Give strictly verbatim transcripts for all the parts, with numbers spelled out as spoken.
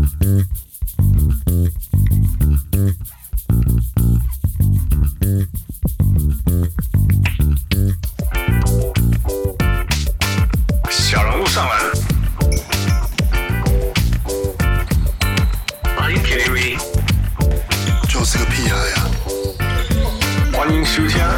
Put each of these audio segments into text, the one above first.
小人物上篮。Are you kidding me？ 就是个屁孩呀！ 歡迎收聽。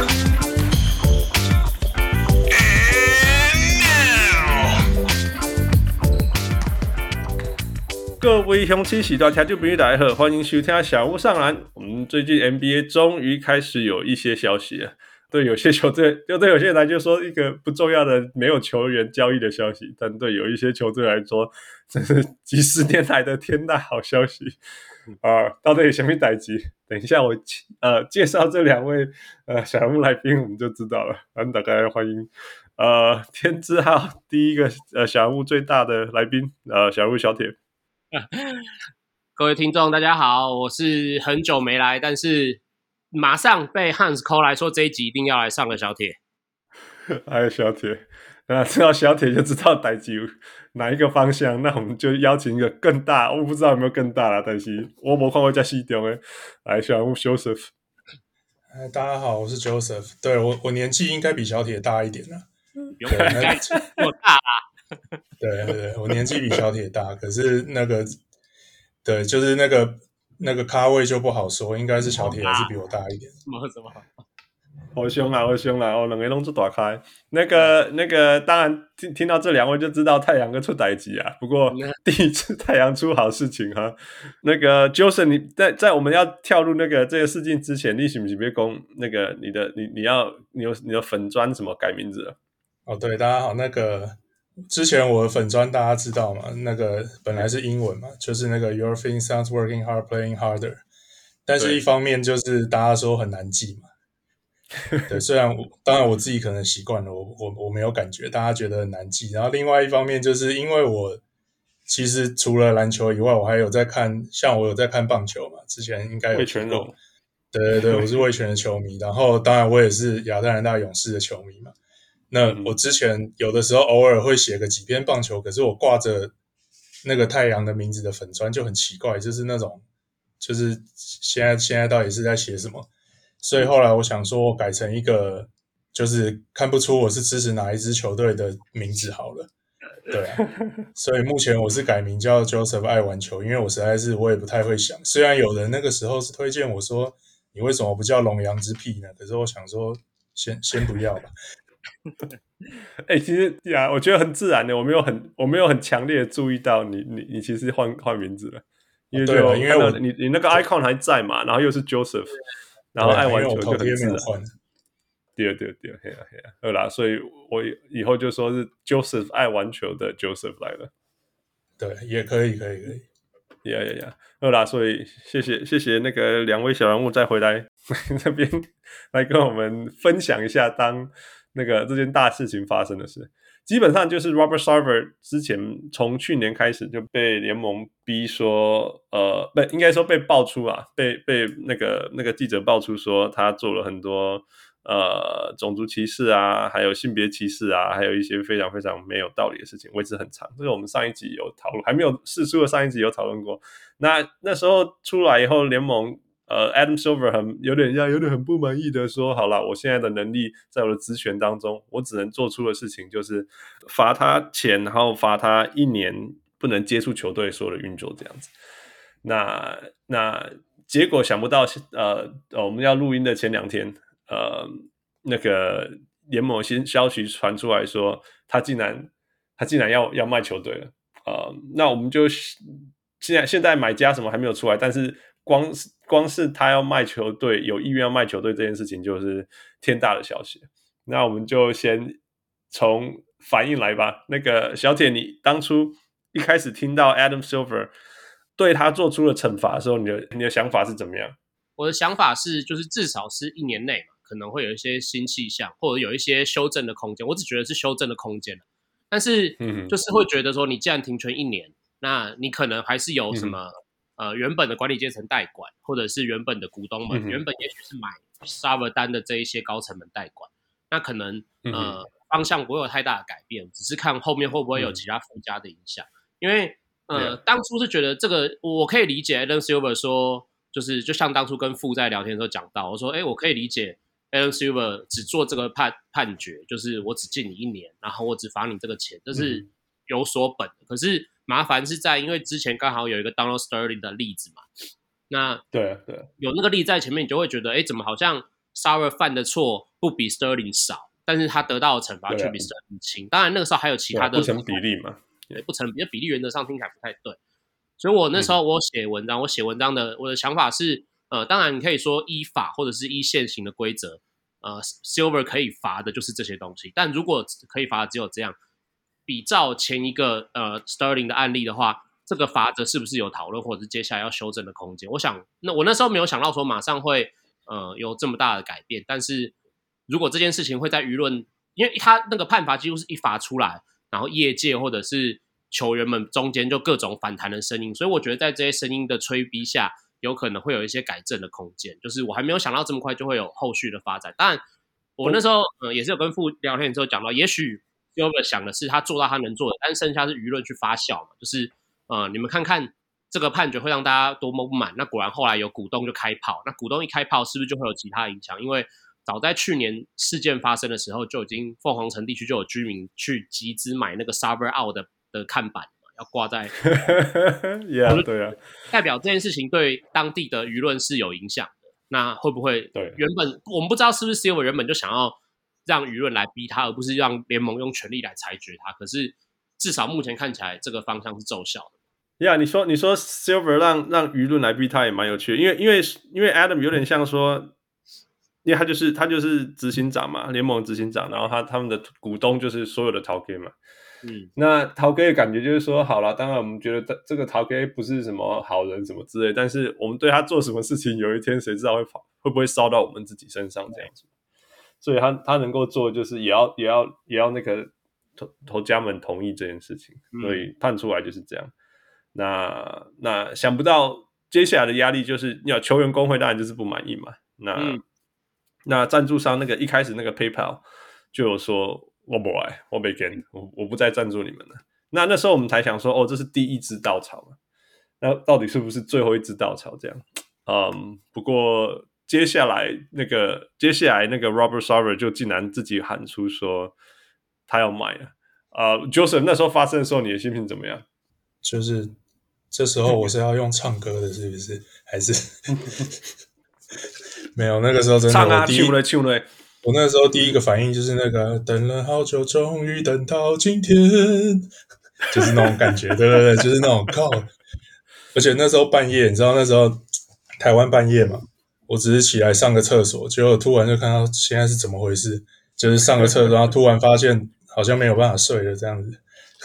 各位鄉親喜大聽眾朋友大家好，歡迎收聽小人物上籃。我們最近 N B A 終於開始有一些消息了。對有些球隊，就對有些人來就說一個不重要的沒有球員交易的消息，但對有一些球隊來說，這是幾十年來的天大好消息啊、呃！到底有什麼代誌？等一下我呃介紹這兩位呃小人物來賓，我們就知道了。咱大家歡迎呃天之號第一個呃小人物最大的來賓呃小人物小鐵。 各位聽眾大家好，我是很久沒來，但是馬上被 Hans call 來說這一集一定要來上的小鐵。 哎，小鐵，那知道小鐵就知道代誌哪一個方向，那我們就邀請一個更大，我不知道有沒有更大啦，但是我沒看過這麼細中的，來小人物 Joseph。 哎，大家好，我是 Joseph。對，我我年紀應該比小鐵大一點啦， 有應該我大啦。 對對對，我年紀比小鐵大，可是那個對，就是那個那個咖位就不好說，應該是小鐵還是比我大一點。 什麼什麼？ 好凶啊！好凶啊！哦，兩個攏做大開。那個那個，當然聽聽到這兩位就知道太陽哥出代誌啊。不過第一次太陽出好事情哈。那個 Joseph， 你在在我們要跳入那個這個事件之前，你是不是別講那個你的你你要你有你的粉專什麼改名字了？ 哦，對，大家好，那個之前我的粉專大家知道嘛？那個本來是英文嘛，就是那個 Your Fin Sounds Working Hard Playing Harder， 但是一方面就是大家說很難記嘛。對，雖然我當然我自己可能習慣了，我我我沒有感覺，大家覺得很難記。然後另外一方面，就是因為我其實除了籃球以外，我還有在看，像我有在看棒球嘛，之前應該有聽過。味全龍。對對對，我是味全的球迷。然後當然我也是亞特蘭大勇士的球迷嘛。那我之前有的時候偶爾會寫個幾篇棒球，可是我掛着那個太陽的名字的粉專就很奇怪，就是那種就是現在現在到底是在寫什麼？所以後來我想說，我改成一個就是看不出我是支持哪一支球隊的名字好了，對啊，所以目前我是改名叫 Joseph 愛玩球，因為我實在是我也不太會想，雖然有人那個時候是推薦我說你為什麼不叫龍陽之癖呢？可是我想說先先不要吧。 哎、欸，其實呀，我覺得很自然的，我沒有很我沒有很強烈的注意到你你你其實換換名字了，因為就、哦、因為我你你那個 icon 還在嘛，然後又是 Joseph。然後愛玩球就很自然，對對對，嘿啊嘿啊，好啦，所以我以後就說是 Joseph 愛玩球的 Joseph 來了， 對，也可以可以可以， 呀呀呀，好啦，所以謝謝謝謝那個兩位小人物再回來這邊來跟我們分享一下當那個這件大事情發生的事。基本上就是 Robert Sarver 之前從去年開始就被聯盟逼說，呃，不應該說被爆出啊，被被那個那個記者爆出說他做了很多呃種族歧視啊，還有性別歧視啊，還有一些非常非常沒有道理的事情，位置很長。這個我們上一集有討論，還沒有釋出的上一集有討論過。那那時候出來以後，聯盟。呃 ，Adam Silver 很有點像，有點很不滿意的說：“好了，我現在的能力在我的職權當中，我只能做出的事情就是罰他錢，然後罰他一年不能接觸球隊所有的運作這樣子。那”那那結果想不到，呃，我們要錄音的前兩天，呃，那個聯盟新消息傳出來說，他竟然他竟然要要賣球隊了。呃，那我們就現在現在買家什麼還沒有出來，但是。光是光是他要賣球隊，有意願要賣球隊這件事情，就是天大的消息。那我們就先從反應來吧。那個小鐵，你當初一開始聽到 Adam Silver 對他做出了懲罰的時候，你的你的想法是怎麼樣？ 我的想法是，就是至少是一年內嘛，可能會有一些新氣象，或者有一些修正的空間。我只覺得是修正的空間，但是就是會覺得說，你既然停權一年，那你可能還是有什麼。嗯呃，原本的管理階層代管，或者是原本的股東們，嗯、原本也許是買 Sarver 單的這一些高層們代管，那可能呃、嗯、方向不會有太大的改變，只是看後面會不會有其他附加的影響。嗯、因為呃，當初是覺得這個我可以理解 Adam Silver 說，就是就像當初跟傅在聊天的時候講到，我說，哎，我可以理解 Adam Silver 只做這個判判決，就是我只禁你一年，然後我只罰你這個錢，這是有所本的。嗯、可是麻煩是在，因為之前剛好有一個 Donald Sterling 的例子嘛，那對對， 有那個例子在前面，你就會覺得，哎，怎麼好像 Sauer 犯的錯不比 Sterling 少，但是他得到的懲罰卻比 Sterling 輕。當然那個時候還有其他的不成比例嘛。 對，不成比，比例原則上聽起來不太對，所以我那時候我寫文章，嗯、我寫文章的我的想法是，呃，當然你可以說依法或者是依現行的規則，呃 ，Silver 可以罰的就是這些東西，但如果可以罰的只有這樣，比照前一個呃 Sterling 的案例的話，這個罰則是不是有討論或者是接下來要修正的空間？我想，那我那時候沒有想到說馬上會呃有這麼大的改變，但是如果這件事情會在輿論，因為他那個判罰幾乎是一罰出來。然後業界或者是球員們中間就各種反彈的聲音，所以我覺得在這些聲音的催逼下，有可能會有一些改正的空間。就是我還沒有想到這麼快就會有後續的發展。當然，我那時候、呃、也是有跟傅聊天的時候講到，也許 Silver 想的是他做到他能做的，但剩下是輿論去發酵嘛。就是呃，你們看看這個判決會讓大家多麼不滿。那果然後來有股東就開炮，那股東一開炮，是不是就會有其他影響？因為早在去年事件發生的時候，就已經鳳凰城地區就有居民去集資買那個 Sauer out 的的看板，要掛在。 yeah, 對啊， 代表這件事情對當地的輿論是有影響的。那會不會？對，原本我們不知道是不是 Silver 原本就想要讓輿論來逼他，而不是讓聯盟用權力來裁決他。可是至少目前看起來，這個方向是奏效的。 呀、yeah, 你說你說 Silver 讓讓輿論來逼他也蠻有趣的，因為因為因為 Adam 有點像說。因為他就是他就是執行長嘛，聯盟執行長，然後他他們的股東就是所有的頭家嘛，嗯，那頭家的感覺就是說，好了，當然我們覺得這個頭家不是什麼好人什麼之類，但是我們對他做什麼事情，有一天誰知道會跑會不會燒到我們自己身上這樣子，所以他他能夠做的就是也要也要也要那個頭頭家們同意這件事情，所以判出來就是這樣。嗯、那那想不到接下來的壓力就是，要球員工會當然就是不滿意嘛，那。嗯那贊助商那個一開始那個 PayPal 就有說我不來，我沒跟，我我不再贊助你們了。那那時候我們才想說，哦，這是第一支稻草嘛。那到底是不是最後一支稻草？這樣，嗯，不過接下來那個接下來那個 Robert Sarver 就竟然自己喊出說他要買了。呃 Joseph 那時候發生的時候，你的心情怎麼樣？ 就是這時候我是要用唱歌的，是不是？還是？沒有，那個時候真的， 唱啊， 我第一唱嘞唱嘞， 我那個時候第一個反應就是那個等了好久，終於等到今天，就是那種感覺，對對對，就是那種靠。而且那時候半夜，你知道那時候台灣半夜嘛，我只是起來上個廁所，結果突然就看到現在是怎麼回事，就是上個廁所，然後突然發現好像沒有辦法睡了這樣子。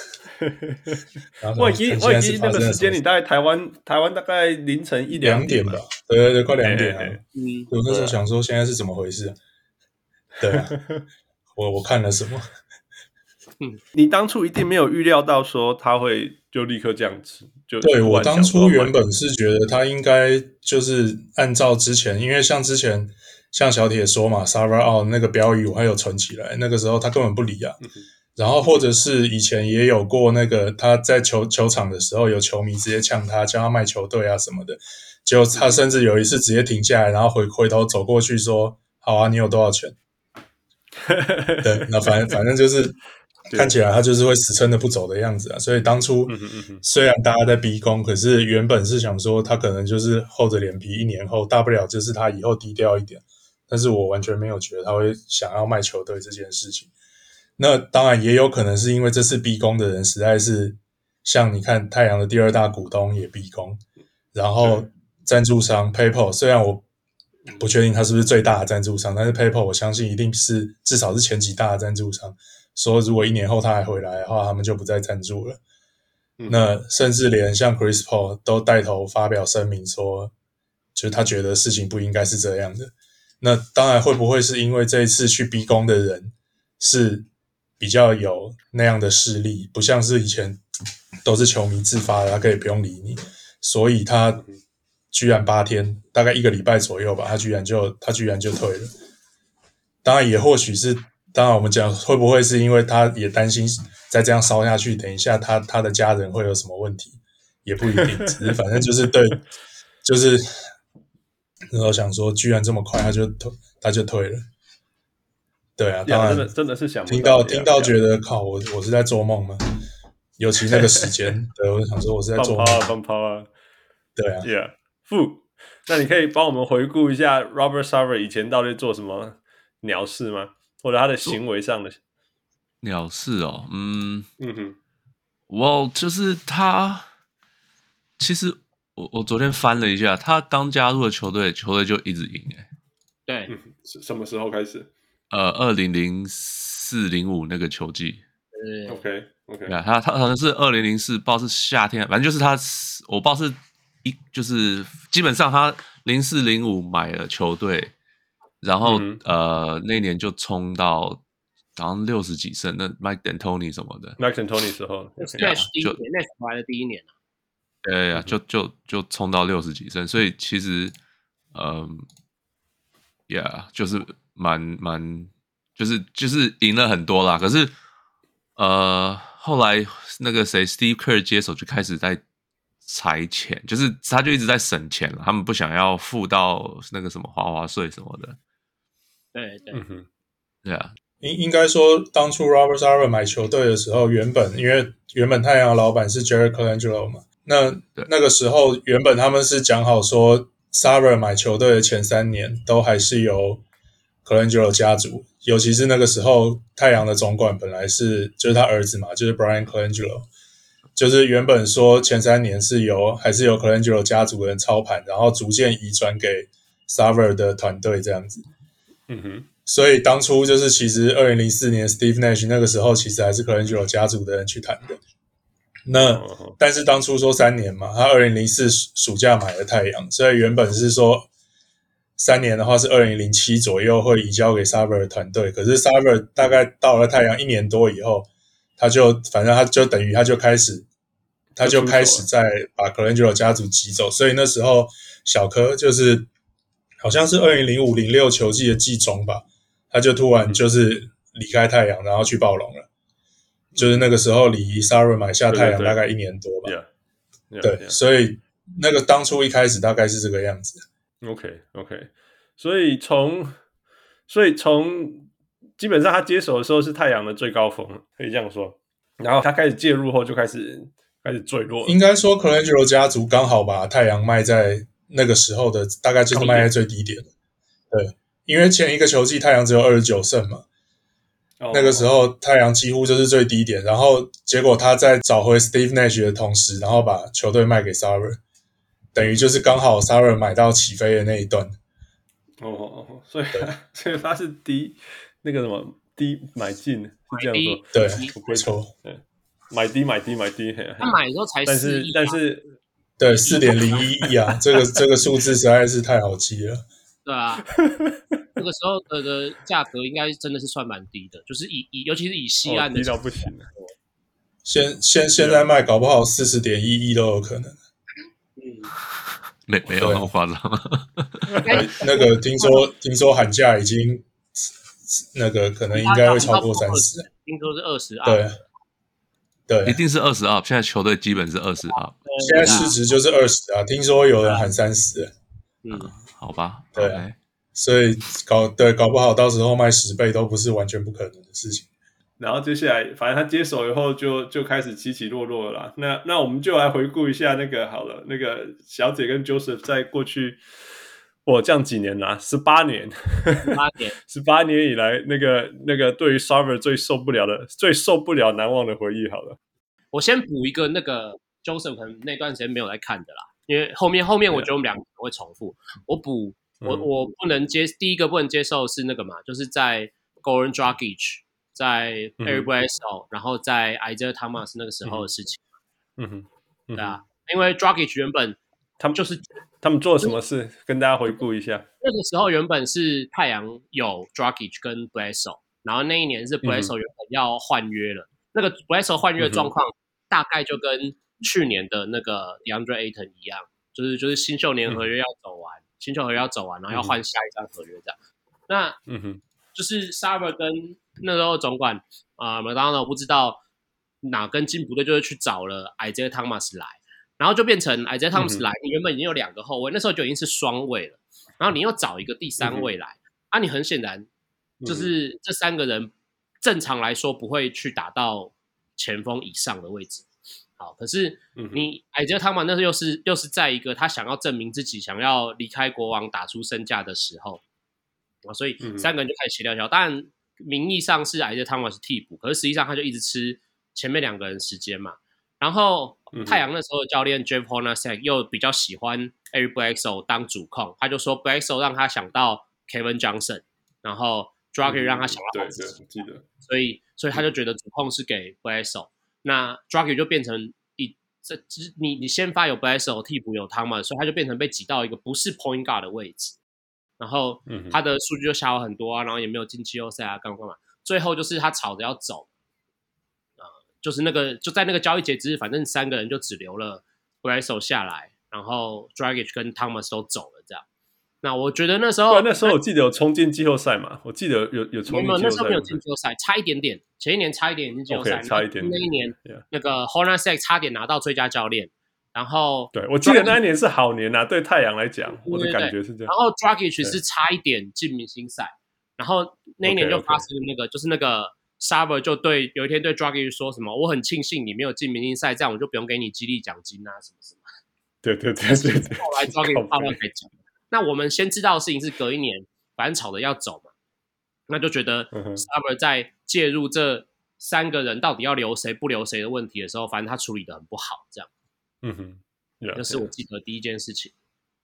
我已經我已經那個時間，你大概台灣台灣大概凌晨一兩點吧， 對對對，快兩點啊。 欸欸欸嗯，我那時候想說現在是怎麼回事啊？對啊，我我看了什麼？ 嗯，你當初一定沒有預料到說他會就立刻這樣子，就對，我當初原本是覺得他應該就是按照之前，因為像之前像小鐵說嘛 ，Sauer out 那個標語我還有存起來，那個時候他根本不理啊。嗯，然後或者是以前也有過那個他在球球場的時候，有球迷直接嗆他，叫他賣球隊啊什麼的。結果他甚至有一次直接停下來，然後回回頭走過去說：“好啊，你有多少錢？”對，那反正反正就是看起來他就是會死撐的不走的樣子啊。所以當初雖然大家在逼宮，可是原本是想說他可能就是厚着臉皮，一年後大不了就是他以後低調一點。但是我完全沒有覺得他會想要賣球隊這件事情。那當然也有可能是因為這次逼宮的人實在是像你看太陽的第二大股東也逼宮，然後贊助商 PayPal 雖然我不確定他是不是最大的贊助商，但是 PayPal 我相信一定是至少是前幾大的贊助商，說如果一年後他還回來的話，他們就不再贊助了。嗯、那甚至連像 Chris Paul 都帶頭發表聲明說，就是他覺得事情不應該是這樣的。那當然會不會是因為這一次去逼宮的人是比較有那樣的勢力，不像是以前都是球迷自發的，他可以不用理你，所以他居然八天，大概一個禮拜左右吧，他居然就他居然就退了。當然也或許是，當然我們講會不會是因為他也擔心再這樣燒下去，等一下他他的家人會有什麼問題， 也不一定，只是反正就是對，就是然後想說，居然這麼快他就退他就退了。對啊，當然真的真的是想不聽到到聽到覺得靠，我我是在做夢嗎？尤其那個時間，對，我想說我是在做夢。 放拋啊，放拋啊， 對啊 ，Yeah， 負。那你可以幫我們回顧一下 Robert Sarver 以前到底做什麼鳥事嗎？或者他的行為上的鳥事哦，嗯嗯哼， 我就是他，其實我我昨天翻了一下，他剛加入的球隊，球隊就一直贏誒。 對， 嗯，什麼時候開始？ 呃，二零零四零五那個球季。 對 ，OK OK， 對啊，他他好像是二零零四，不知道是夏天，反正就是他，我不知道是一就是基本上他零四零五買了球隊，然後、嗯、呃那年就衝到好像六十幾勝，那 Mike D'Antoni 什麼的 ，Mike D'Antoni 時候 ，Nash 第一年 ，Nash 來的第一年啊， 對呀，就就就衝到六十幾勝，所以其實嗯。Yeah， 就是蠻蠻，就是就是贏了很多啦。可是，呃，後來那個誰 ，Steve Kerr 接手就開始在裁錢，就是他就一直在省錢了。他們不想要付到那個什麼華華稅什麼的。 對對， 嗯哼， 對啊。 應應該說，當初 Robert Sarver 買球隊的時候，原本因為原本太陽的老闆是 Jerry Colangelo 嘛，那那個時候原本他們是講好說。Sarver 買球隊的前三年都還是由 Colangelo 家族，尤其是那個時候太陽的總管本來是就是他兒子嘛，就是 Brian Colangelo， 就是原本說前三年是由還是由 Colangelo 家族的人操盤，然後逐漸移轉給 Sarver 的團隊這樣子。 嗯哼， 所以當初就是其實二零零四年 Steve Nash 那個時候其實還是 Colangelo 家族的人去談的。那但是當初說三年嘛，他二零零四暑假買了太陽，所以原本是說三年的話是二零零七左右會移交給 Sarver 的團隊，可是 Sarver 大概到了太陽一年多以後，他就反正他就等於他就開始他就開始在把 Colangelo 家族擠走，所以那時候小柯就是好像是二零零五零六球季的季中吧，他就突然就是離開太陽，然後去暴龍了。就是那個時候離 Sarver 買下太陽大概一年多吧，對，對，對， yeah, yeah, 對， yeah. 所以那個當初一開始大概是這個樣子。 OK OK， 所以從所以從基本上他接手的時候是太陽的最高峰，可以這樣說。然後他開始介入後就開始開始墜落了。 應該說 Colangelo 家族剛好把太陽賣在那個時候的大概就是賣在最低點。對，因為前一個球季太陽只有二十九勝嘛。Oh, 那個時候太陽幾乎就是最低點，然後結果他在找回 Steve Nash 的同時，然後把球隊賣給 Sarver， 等於就是剛好 Sarver 買到起飛的那一段。 哦哦哦，所以所以他是低那個什麼低買進是這樣說， 對，沒錯， 對，買低買低買低， 他買的時候才四億、啊， 但是但是對四點零一億啊，這個這個數字實在是太好記了。 對啊。那個時候的的價格應該真的是算蠻低的，就是以以尤其是以西岸的、 哦、低到不行了。 現現現在賣搞不好四十點一億都有可能。 嗯， 沒沒有那麼誇張。 那個聽說聽說喊價已經那個可能應該會超過三十。 聽說是二十啊。 對對， 一定是二十 up。現在球隊基本是二十 up。 現在市值就是二十啊，聽說有人喊三十。 嗯，好吧。 對。 Okay. 所以搞對搞不好到時候賣十倍都不是完全不可能的事情。 然後接下來，反正他接手以後就就開始起起落落了啦。那那我們就來回顧一下那個好了，那個小姐跟 Joseph 在過去，我這樣幾年啦，十八年， 十八年， 十八年以來，那個那個對於 Sarver 最受不了的、最受不了難忘的回憶好了。 我先補一個，那個 Joseph 可能那段時間沒有來看的啦，因為後面後面我覺得我們兩個會重複，我補。我我不能接第一個不能接受是那個嘛，就是在 Goran Dragic 在 Eric Bledsoe、嗯、然後在 Isaiah Thomas 那個時候的事情。 嗯哼，嗯哼對啊，因為 Dragic 原本他們就是他們做了什麼事，跟大家回顧一下。 那個時候原本是太陽有 Dragic 跟 Bledsoe， 然後那一年是 Bledsoe 原本要換約了，嗯、那個 Bledsoe 換約的狀況大概就跟去年的那個 DeAndre Ayton 一樣，就是就是新秀年合約要走完。嗯新球合約要走完，然後要換下一張合約這樣。嗯、那，嗯哼，就是 Sarver 跟那時候總管啊，麥當勞不知道哪根筋不對，就是去找了 Isaiah Thomas 來。 然後就變成 Isaiah Thomas 來，嗯、你原本已經有兩個後衛，那時候就已經是雙衛了，然後你又找一個第三衛來，嗯、啊，你很顯然就是這三個人正常來說不會去打到前鋒以上的位置。好，可是你 Isaiah Thomas 那時候又是又是在一個他想要證明自己，想要離開國王打出身價的時候，啊，所以三個人就開始協調協調。當然名義上是 Isaiah Thomas 是替補，可是實際上他就一直吃前面兩個人時間嘛。然後太陽那時候的教練 Jeff Hornacek 又比較喜歡 Eric Bledsoe 當主控，他就說 Bledsoe 讓他想到 Kevin Johnson， 然後 Dragic 讓他想到好自己， 對對，記得。 所以所以他就覺得主控是給 Bledsoe， 那 Dragic 就變成一這你你先發有 Bledsoe， 替補有 Thomas， 所以他就變成被擠到一個不是 Point Guard 的位置，然後他的數據就下滑很多啊，然後也沒有進季後賽啊，幹嘛幹嘛，最後就是他吵着要走。就是那個就在那個交易截止日，反正三個人就只留了 Bledsoe 下來，然後 Dragic 跟 Thomas 都走了這樣。那我覺得那時候， 那時候我記得有衝進季後賽嘛，我記得有有衝進季後賽， 沒有，那時候沒有進季後賽，差一點點。前一年差一點進季後賽， okay, 差一點點。 那一年、 yeah. 那個 Hornacek 差點拿到最佳教練，然後對我記得那一年是好年啊，對太陽來講，我的感覺是這樣。 然後 Dragic 是差一點進明星賽，然後那一年就發生了那個， okay, okay. 就是那個。Sarver 就對有一天對 Dragic 說什麼，我很慶幸你沒有進明星賽，這樣我就不用給你激勵獎金啊什麼什麼。 對對對對對。 後來 Dragic 爆料才講。那我們先知道的事情是隔一年，反正吵着要走嘛，那就覺得 Sarver 在介入這三個人到底要留誰不留誰的問題的時候，反正他處理得很不好，這樣。 嗯哼， 那是我記得第一件事情。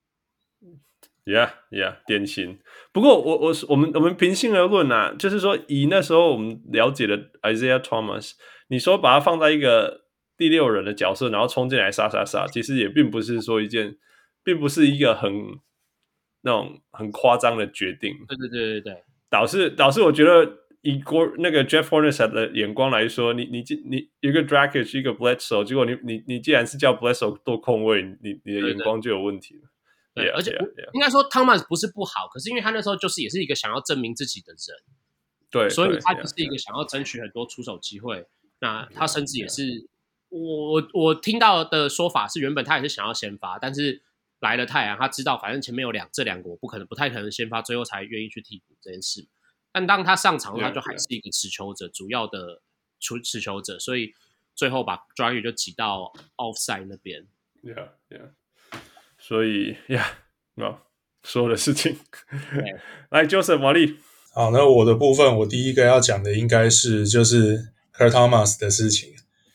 Yeah, yeah， 典型。不過我我我們我們平心而論啊，就是說以那時候我們了解的 Isaiah Thomas， 你說把他放在一個第六人的角色，然後衝進來殺殺殺，其實也並不是說一件，並不是一個很那種很誇張的決定。 對對對對對。導致導致我覺得以國那個 Jeff Hornacek 的眼光來說，你你你一個 Dragic 一個 Bledsoe， 結果你你你既然是叫 Bledsoe 做控衛，你你的眼光就有問題了。 對， yeah, 而且 yeah, yeah. 應該說 Thomas 不是不好，可是因為他那時候就是也是一個想要證明自己的人， 對， 所以他就是一個想要爭取很多出手機會。Yeah, 那他甚至也是 yeah. 我我我聽到的說法是，原本他也是想要先發，但是來了太陽，他知道反正前面有兩這兩個我不可能不太可能先發，最後才願意去替補這件事。但當他上場， yeah, 他就還是一個持球者， yeah. 主要的出持球者，所以最後把 Dragic 就擠到 offside 那邊。 Yeah, yeah. 所以呀，那、yeah, no, 所有的事情，來 Joseph 毛利。 好，那我的部分，我第一個要講的應該是就是 Kurt Thomas 的事情。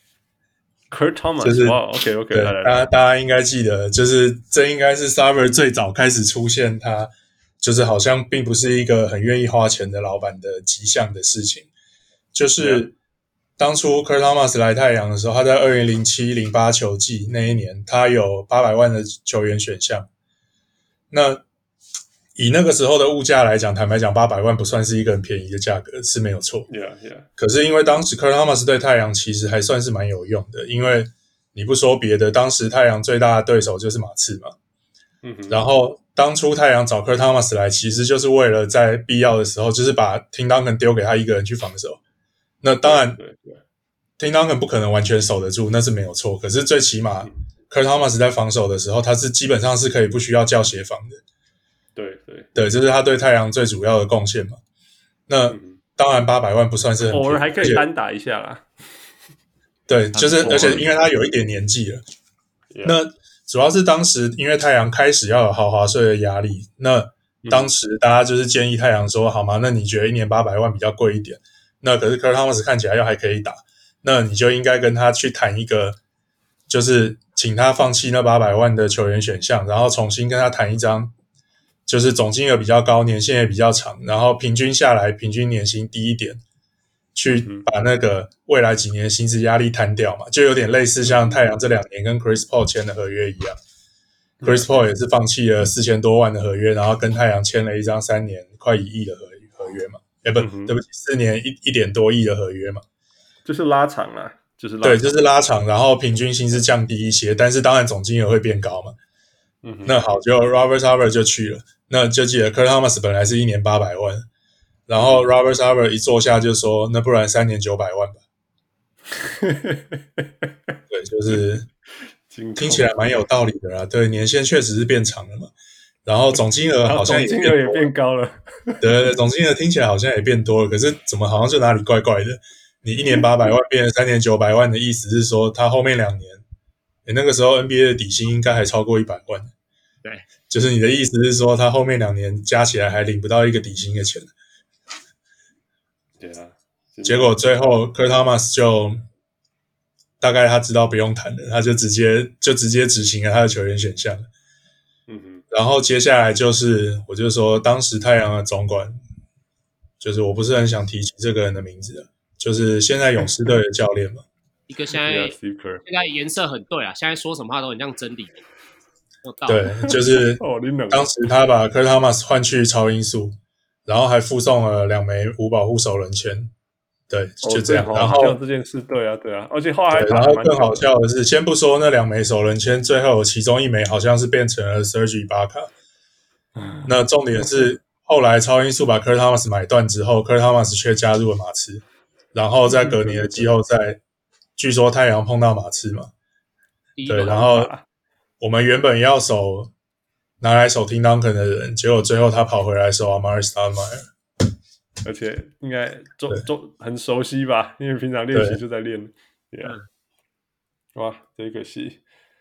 Kurt Thomas， 就是哇 ，OK OK， 對，大家大家應該記得，就是這應該是 Sarver 最早開始出現，他就是好像並不是一個很願意花錢的老闆的跡象的事情。就是當初 Kurt Thomas 來太陽的時候，他在二零零七零八球季那一年，他有八百萬的球員選項。那以那個時候的物價來講，坦白講，八百萬不算是一個很便宜的價格，是沒有錯。 Yeah, yeah. 可是因為當時 Kurt Thomas 對太陽其實還算是蠻有用的，因為你不說別的，當時太陽最大的對手就是馬刺嘛。嗯哼。然後當初太陽找 Kurt Thomas 來，其實就是為了在必要的時候，就是把 Tim Duncan 丟給他一個人去防守。那當然 Tim Duncan 不可能完全守得住，那是沒有錯。可是最起碼、嗯、Kurt Thomas 在防守的時候，他是基本上是可以不需要叫協防的。 對對對，這是他對太陽最主要的貢獻嘛。那、嗯、當然八百萬不算是很便宜， 偶爾還可以單打一下啦。 對，就是而且因為他有一點年紀了。Yeah. 那主要是當時因為太陽開始要有豪華稅的壓力，那當時大家就是建議太陽說、嗯、好嗎？那你覺得一年八百萬比較貴一點？那可是 Kurt Thomas 看起來又還可以打，那你就應該跟他去談一個，就是請他放棄那八百萬的球員選項，然後重新跟他談一張。就是總金額比較高，年限也比較長，然後平均下來平均年薪低一點，去把那個未來幾年薪資壓力攤掉嘛，就有點類似像太陽這兩年跟 Chris Paul 簽的合約一樣。Chris Paul 也是放棄了四千多萬的合約，然後跟太陽簽了一張三年快一億的合合約嘛，哎不，對不起，四年一一點多億的合約嘛， 就是拉長了，就是拉長對，就是拉長，然後平均薪資降低一些，但是當然總金額會變高嘛。嗯、那好，就 Robert Sarver 就去了。那就記得 Kurt Thomas 本來是一年八百萬，然後 Robert Sarver 一坐下就說，那不然三年九百萬吧。對，就是聽起來蠻有道理的啦。對，年限確實是變長了嘛，然後總金額好像也總金額也變高了。 對對，總金額聽起來好像也變多了，可是怎麼好像就哪裡怪怪的？你一年八百萬變成三年九百萬的意思是說，他後面兩年，你那個時候 N B A 的底薪應該還超過一百萬。 對， 就是你的意思是說，他後面兩年加起來還領不到一個底薪的錢。 對啊， 結果最後 Kurt Thomas 就大概他知道不用談了，他就直接就直接執行了他的球員選項。 嗯哼， 然後接下來就是我就說，當時太陽的總管，就是我不是很想提起這個人的名字了，就是現在勇士隊的教練嘛， 一個現在現在顏色很對啊，現在說什麼話都很像真理。 對，就是當時他把 Kurt Thomas 換去超音速，然後還附送了兩枚無保護首輪籤，對，就這樣。 哦、 然後這件事，對啊，對啊，而且後來還然後更好笑的是，先不說那兩枚首輪籤，最後其中一枚好像是變成了 Serge Ibaka。那重點是後來超音速把 Kurt Thomas 買斷之後 ，Kurt Thomas 卻加入了馬刺，然後在隔年的季後賽，據說太陽碰到馬刺嘛，對，然後。我們原本要守拿來守 Tim Duncan 的人，結果最後他跑回來守 Amar'e Stoudemire， 而且應該中中很熟悉吧，因為平常練習就在練。Yeah. 哇，真可惜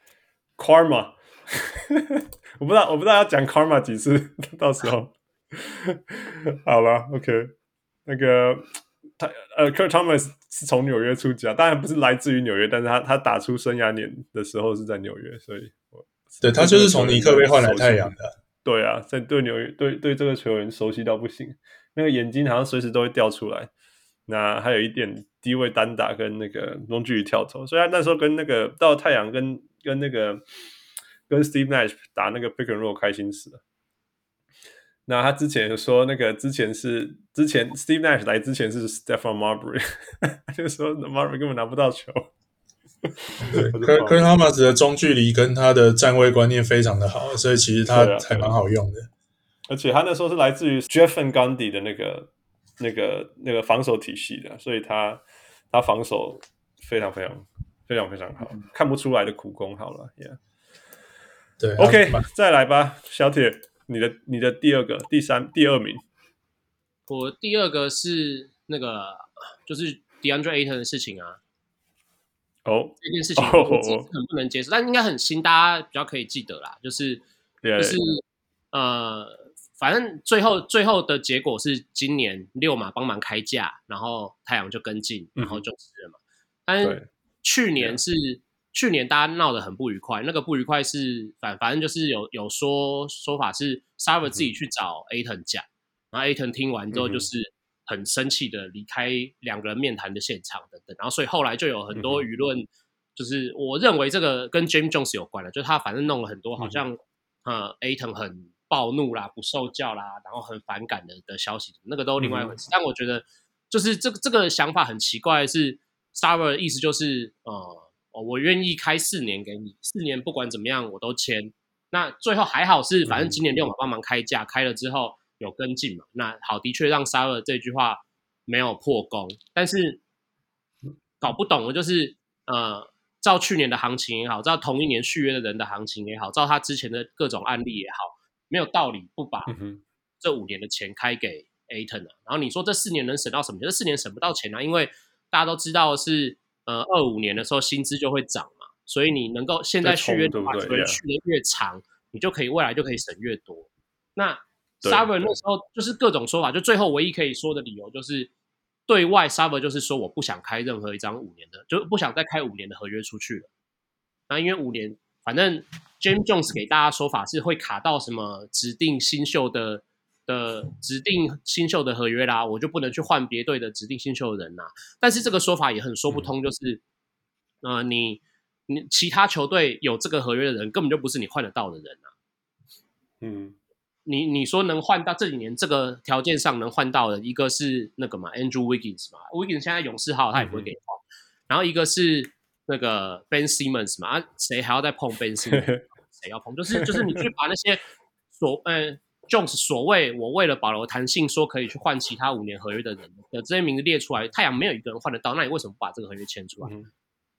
，Karma， 我不知道我不知道要講 Karma 幾次，到時候好了 ，OK， 那個他呃 Kurt Thomas 是從紐約出家，當然不是來自於紐約，但是他他打出生涯年的時候是在紐約，所以。 對，他就是從尼克被換來太陽的。 對啊，在對紐約對對這個球員熟悉到不行，那個眼睛好像隨時都會掉出來。那還有一點低位單打跟那個中距離跳投，所以他那時候跟那個到太陽跟跟那個跟 Steve Nash 打那個 pick and roll 開心死了。那他之前有說那個之前是之前 Steve Nash 來之前是 Stephon Marbury， 他就說 Marbury 根本拿不到球。 對 Kurt Thomas 的中距離跟他的站位觀念非常的好，所以其實他還蠻好用的。 而且他那時候是來自於 Jeff Van Gundy 的那個、那個、那個防守體系的，所以他他防守非常非常非常非常好，看不出來的苦功。好了 ，Yeah， 對 ，OK， 再來吧，小鐵，你的你的第二個、第三、第二名， 我第二個是那個就是 DeAndre Ayton 的事情啊。 哦、oh, 這件事情我自己很不能接受， oh, oh. 但應該很新，大家比較可以記得啦。就是 yeah, 就是 yeah. 呃，反正最後最後的結果是今年六馬幫忙開價，然後太陽就跟進，然後就死了嘛。嗯、但是去年是、yeah. 去年大家鬧得很不愉快，那個不愉快是反反正就是有有說說法是 Sarver 自己去找 Ayton 講，嗯、然後 Ayton 聽完之後就是。嗯很生氣的離開兩個人面談的現場等等，然後所以後來就有很多輿論，就是我認為這個跟 James Jones 有關了，就是他反正弄了很多好像、嗯、呃 Ayton 很暴怒啦、不受教啦，然後很反感的的消息，那個都另外一回事。嗯、但我覺得就是這個這個想法很奇怪的是 Sarver 的意思就是呃我願意開四年給你，四年不管怎麼樣我都簽。那最後還好是反正今年六馬幫忙開價，開了之後。有跟進嘛？那好，的確讓 Sarver 這句話沒有破功，但是搞不懂的就是呃，照去年的行情也好，照同一年續約的人的行情也好，照他之前的各種案例也好，沒有道理不把這五年的錢開給 Ayton 啊。然後你說這四年能省到什麼錢？這四年省不到錢啊，因為大家都知道的是呃，二五年的時候薪資就會漲嘛，所以你能夠現在續約的話，球員續的越長，你就可以未來就可以省越多。那Sarver 那時候就是各種說法，就最後唯一可以說的理由就是對外 Sarver 就是說我不想開任何一張五年的，就不想再開五年的合約出去了。那因為五年，反正 James Jones 給大家說法是會卡到什麼指定新秀的的指定新秀的合約啦，我就不能去換別隊的指定新秀的人啦。但是這個說法也很說不通，就是呃你你其他球隊有這個合約的人根本就不是你換得到的人啊。嗯。你你說能換到這幾年這個條件上能換到的一個是那個嘛 Andrew Wiggins 嘛 Wiggins 現在勇士號他也不會給你換、嗯、然後一個是那個 Ben Simmons 嘛啊誰還要再碰 Ben Simmons 誰要碰就是就是你去把那些所呃 Jones 所謂我為了保留彈性說可以去換其他五年合約的人的這些名字列出來，太陽沒有一個人換得到，那你為什麼不把這個合約簽出來、嗯、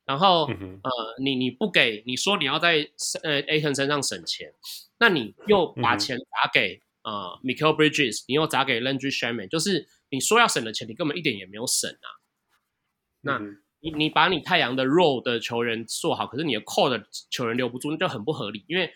然後、 嗯、 呃，你你不給，你說你要在呃 Ayton 身上省錢，那你又把錢砸給、嗯、呃 Mikal Bridges， 你又砸給 Landry Shamet， 就是你說要省的錢，你根本一點也沒有省啊。那、嗯、你你把你太陽的 role 的球員做好，可是你的 core 的球員留不住，那就很不合理。因為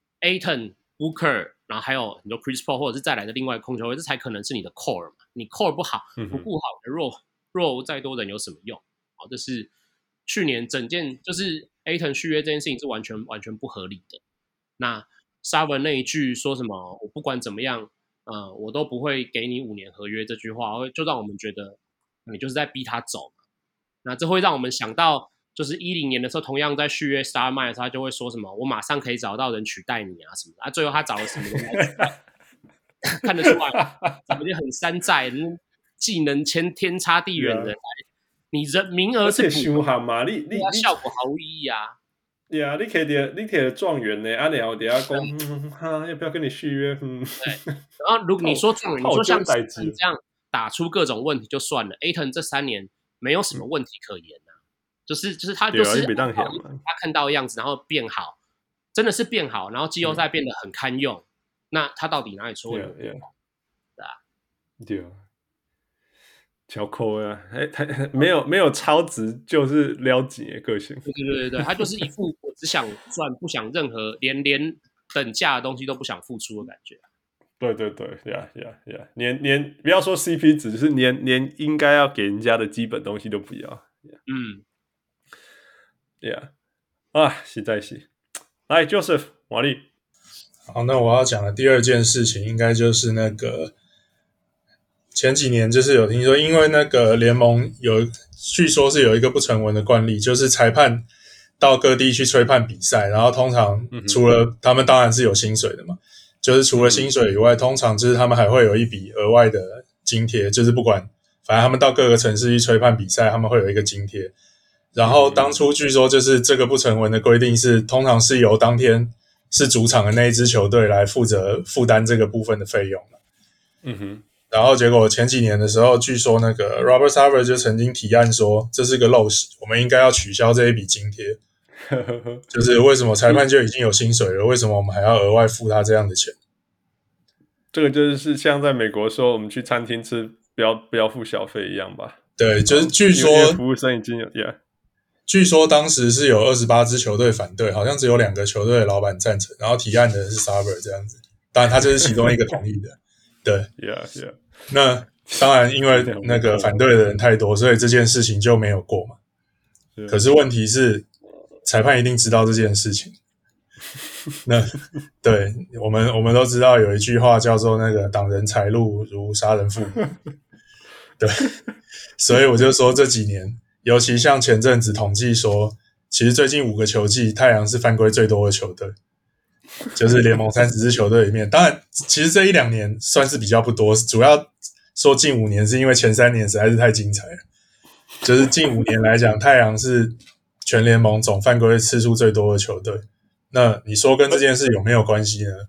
Ayton、Booker， 然後還有很多 Chris Paul 或者是再來的另外控球位，這才可能是你的 core 嘛。你 core 不好，不顧好你的 role， role 再多人有什麼用？好，這是去年整件就是 Ayton 續約這件事情是完全完全不合理的。那 Sarver 那一句說什麼我不管怎麼樣，呃，我都不會給你五年合約這句話，就讓我們覺得你就是在逼他走。那這會讓我們想到，就是一零年的時候，同樣在續約 Star Mile 的時候，他就會說什麼我馬上可以找到人取代你啊什麼的啊，最後他找了什麼人來取代？看得出來，怎麼就很山寨，技能千天差地遠的來， yeah. 你人名額是補嘛，你你你效果毫無意義啊。 對啊，你可以的，你可以的狀元呢，啊，然後等下講，哈，要不要跟你續約？嗯， 對。然後如果你說狀元，你說像這樣打出各種問題就算了 ，Ayton 這三年沒有什麼問題可言啊，嗯、就是就是他就是、啊、他看到的樣子，然後變好，真的是變好，然後季後賽變得很堪用，嗯、那他到底哪裡出問題？對啊， 對啊。小扣啊，哎，他沒有沒有超值，就是撩緊的個性。 對對對對，他就是一副我只想賺，不想任何連連等價的東西都不想付出的感覺。 對對對，呀呀呀，連連不要說 C P 值，就是連連應該要給人家的基本東西都不要。Yeah. 嗯， 呀、yeah. 啊，實在是。來 ，Joseph， 瓦力。 好，那我要講的第二件事情，應該就是那個。前幾年就是有聽說，因為那個聯盟有據說是有一個不成文的慣例，就是裁判到各地去吹判比賽，然後通常除了他們當然是有薪水的嘛，就是除了薪水以外，通常就是他們還會有一筆額外的津貼，就是不管反正他們到各個城市去吹判比賽，他們會有一個津貼。然後當初據說就是這個不成文的規定是，通常是由當天是主場的那一支球隊來負責負擔這個部分的費用。 嗯哼。 然後結果前幾年的時候，據說那個 Robert Sarver 就曾經提案說，這是個陋習，我們應該要取消這一筆津貼。就是為什麼裁判就已經有薪水了，為什麼我們還要額外付他這樣的錢？ 這個就是像在美國說，我們去餐廳吃不要不要付小費一樣吧？ 對，就是據說服務生已經有 yeah。 據說當時是有二十八支球隊反對，好像只有兩個球隊的老闆贊成，然後提案的是 Sarver 這樣子，當然他就是其中一個同意的。對 ，Yeah Yeah。 那當然，因為那個反對的人太多，所以這件事情就沒有過嘛。可是問題是，裁判一定知道這件事情。那對我們，我們都知道有一句話叫做“那個擋人財路如殺人父母”。對，所以我就說這幾年，尤其像前陣子統計說，其實最近五個球季，太陽是犯規最多的球隊。就是聯盟三十支球隊裡面，當然，其實這一兩年算是比較不多。主要說近五年，是因為前三年實在是太精彩了。就是近五年來講，太陽是全聯盟總犯規次數最多的球隊。那你說跟這件事有沒有關係呢？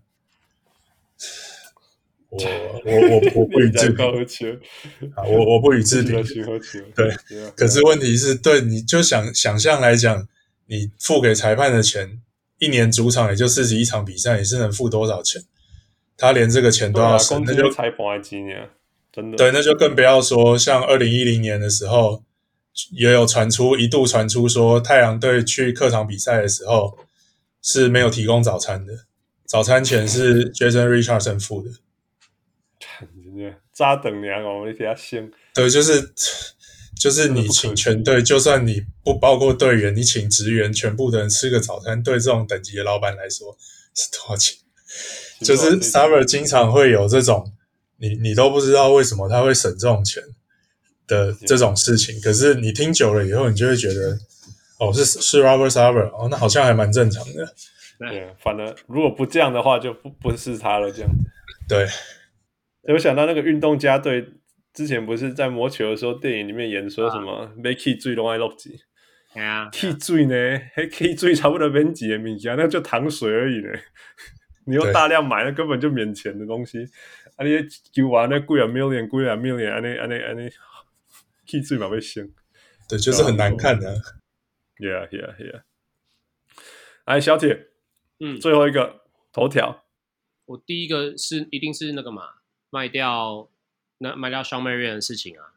我我我我不予置評。我我不予置評。對，可是問題是，對，你就想想象來講，你付給裁判的錢。一年主場也就四十一場比賽，你是能付多少錢？他連這個錢都要省，啊、那就裁判的錢啊，真的。 對，那就更不要說像二零一零年的時候，也有傳出一度傳出說，太陽隊去客場比賽的時候是沒有提供早餐的，早餐錢是 Jason Richardson 付的。 早等你啊，我們給他先。 對，就是就是你請全隊，就算你不包括隊員，你請職員全部的人吃個早餐，對這種等級的老闆來說是多少錢？就是 Sarver 經常會有這種，你你都不知道為什麼他會省這種錢的這種事情，可是你聽久了以後，你就會覺得，哦，是是 Robert Sarver，哦，那好像還蠻正常的。 對，反正如果不這樣的話，就不不是他了，這樣子。 對， 我想到那個運動家隊。之前不是在魔球的時候，電影裡面演說什麼沒氣水都愛落錢， 對啊， 氣水呢，黑氣水差不多免錢的東西，那就糖水而已呢。你用大量買，那根本就免錢的東西。啊，你球完那貴啊 million， 貴啊 million， 安尼安尼安尼，氣水嘛被升。 對，就是很難看的、啊。 Yeah, yeah, yeah. 來，小鐵， 嗯， 最後一個頭條， 我第一個是一定是那個嘛，賣掉那賣掉 Shawn Marion 的事情啊。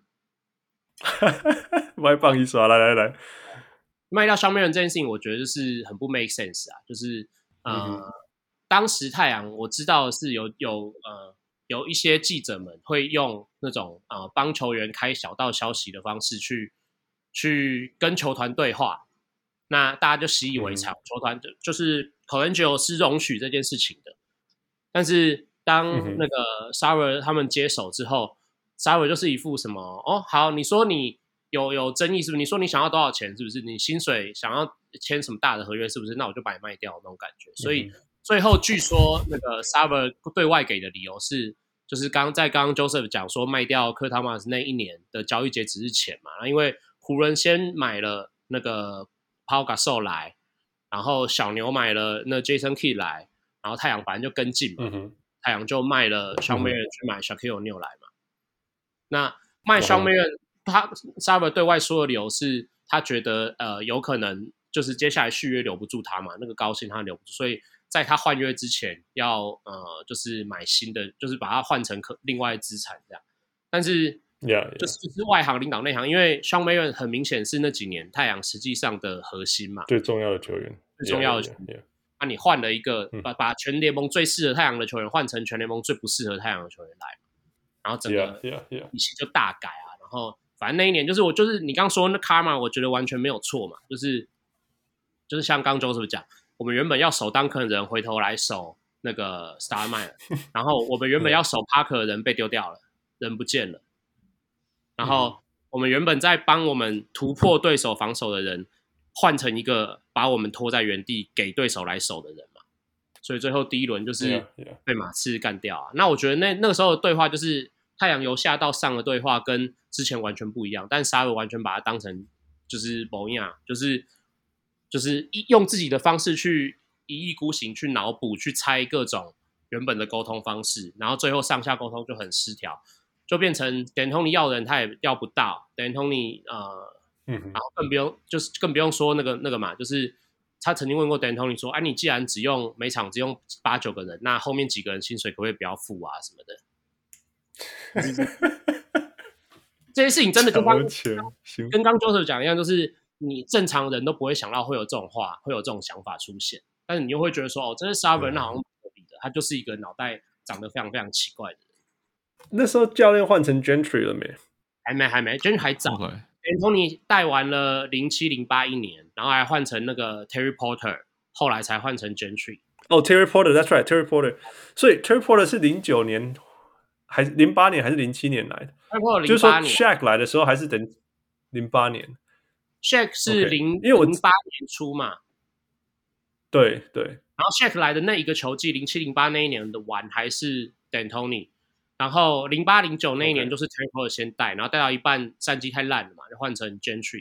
賣棒一刷，來來來， 賣掉 Shawn Marion 這件事情，我覺得就是很不 make sense 啊，就是呃， 嗯、 當時太陽我知道是有有呃有一些記者們會用那種呃幫球員開小道消息的方式去去跟球團對話。那大家就習以為常，嗯、球團就就是 Colangelo 是容許這件事情的，但是當那個 Sarver 他們接手之後、嗯、Sarver 就是一副什麼哦，好，你說你有有爭議是不是？你說你想要多少錢是不是？你薪水想要簽什麼大的合約是不是？那我就把你賣掉那種感覺。所以最後據說那個 Sarver 對外給的理由是，就是剛在剛剛 Joseph 講說賣掉科湯馬斯那一年的交易截止日前嘛，因為湖人先買了那個Pau Gasol 來，然後小牛買了那 Jason Kidd 來，然後太陽反正就跟進嘛，嗯、太陽就賣了 Shawn Marion、嗯、去買 Shaquille O'Neal 來嘛。那賣 Shawn Marion、嗯、他 Sarver 對外說的理由是，他覺得呃有可能就是接下來續約留不住他嘛，那個高薪他留不住，所以在他換約之前要呃就是買新的，就是把它換成可另外資產這樣，但是。 Yeah, yeah. 就是就是外行領導內行，因為 Shawn Marion 很明顯是那幾年太陽實際上的核心嘛， 最重要的球員， 最重要的球員。那、yeah, yeah, yeah. 啊、你換了一個，把把全聯盟最適合太陽的球員換成全聯盟最不適合太陽的球員來，然後整個體系就大改啊。然後反正那一年就是我就是你剛說那 Karma， 我覺得完全沒有錯嘛，就是就是像剛 Joseph 講，我們原本要守 Duncan 的人回頭來守那個 Stoudemire 然後我們原本要守 Parker 的人被丟掉了，人不見了。然後我們原本在幫我們突破對手防守的人，換成一個把我們拖在原地給對手來守的人嘛，所以最後第一輪就是被馬刺幹掉啊。Yeah, yeah. 那我覺得那那個時候的對話就是太陽由下到上的對話跟之前完全不一樣，但Sarver完全把它當成就是某樣，就是就是用自己的方式去一意孤行去腦補去猜各種原本的溝通方式，然後最後上下溝通就很失調。就變成 D'Antoni 要的人他也要不到 D'Antoni 呃、嗯，然後更不用就是更不用說那個那個嘛，就是他曾經問過 D'Antoni 說，哎、啊，你既然只用每場只用八九個人，那後面幾個人薪水可不可以不要付啊什麼的？這些事情真的就跟跟剛 Joseph 講一樣，就是你正常人都不會想到會有這種話，會有這種想法出現，但是你又會覺得說，哦，這是 Sarver 那好像不合理的，他就是一個腦袋長得非常非常奇怪的人。 那時候教練換成 Gentry 了沒？ 還沒，還沒 ，Gentry 還早。 Okay. D'Antoni 帶完了零七零八一年，然後還換成那個 Terry Porter， 後來才換成 Gentry。 哦、oh, ，Terry Porter，That's right，Terry Porter。所以 Terry Porter 是零九年，還是零八年，還是零七年來的？就是說 Shaq 來的時候還是等零八年。 Shaq 是零因為我零八年初嘛。 對對。 然後 Shaq 來的那一個球季，零七零八那一年的完還是 D'Antoni。然後零八零九那一年就是 Terry Porter 先帶， okay. 然後帶到一半戰績太爛了嘛，就換成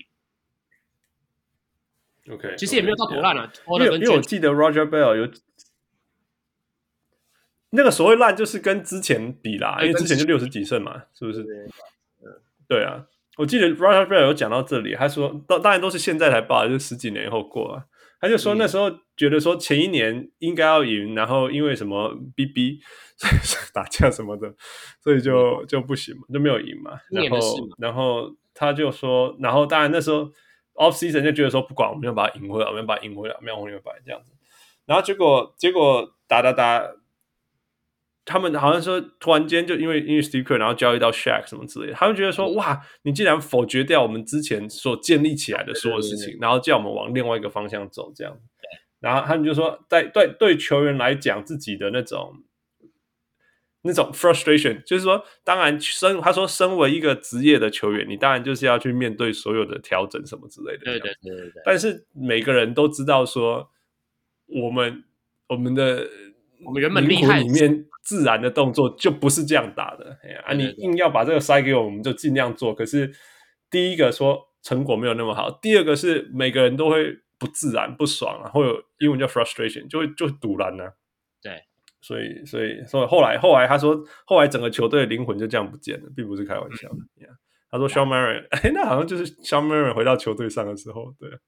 Gentry。OK， 其實也沒有到多爛啊。 Okay. 因為因為我記得 Roger Bell 有那個所謂爛，就是跟之前比啦，因為之前就六十幾勝嘛，是不是？對，對啊，我記得 Roger Bell 有講到這裡，他說，當當然都是現在才報，就是十幾年以後過啊。他就說那時候覺得說前一年應該要贏，然後因為什麼 B B 打架什麼的，所以就就不行嘛，就沒有贏嘛。然後然後他就說，然後當然那時候 off season 就覺得說不管，我們要把它贏回來，我們要把它贏回來，沒有紅牛白這樣子。然後結果結果打打打，他們好像說突然間就因為因為 Steve Kerr 然後交易到 Shaq 什麼之類的，他們覺得說哇，你竟然否決掉我們之前所建立起來的所有事情，對對對對，然後叫我們往另外一個方向走這樣。然後他們就說，在對對球員來講，自己的那種那種 frustration，就是說，當然身他說身為一個職業的球員，你當然就是要去面對所有的調整什麼之類的。對對對對。但是每個人都知道說，我們我們的我們原本靈魂裡面自然的動作就不是這樣打的。哎呀，啊，你硬要把這個塞給我們，我們就盡量做。可是第一個說成果沒有那麼好，第二個是每個人都會不自然、不爽啊，會有英文叫 frustration， 就會就會賭爛啊。對，所以所以所以後來後來他說，後來整個球隊的靈魂就這樣不見了，並不是開玩笑的。嗯 yeah. 他說 Shawn Marion， 哎，那好像就是 Shawn Marion 回到球隊上的時候，對。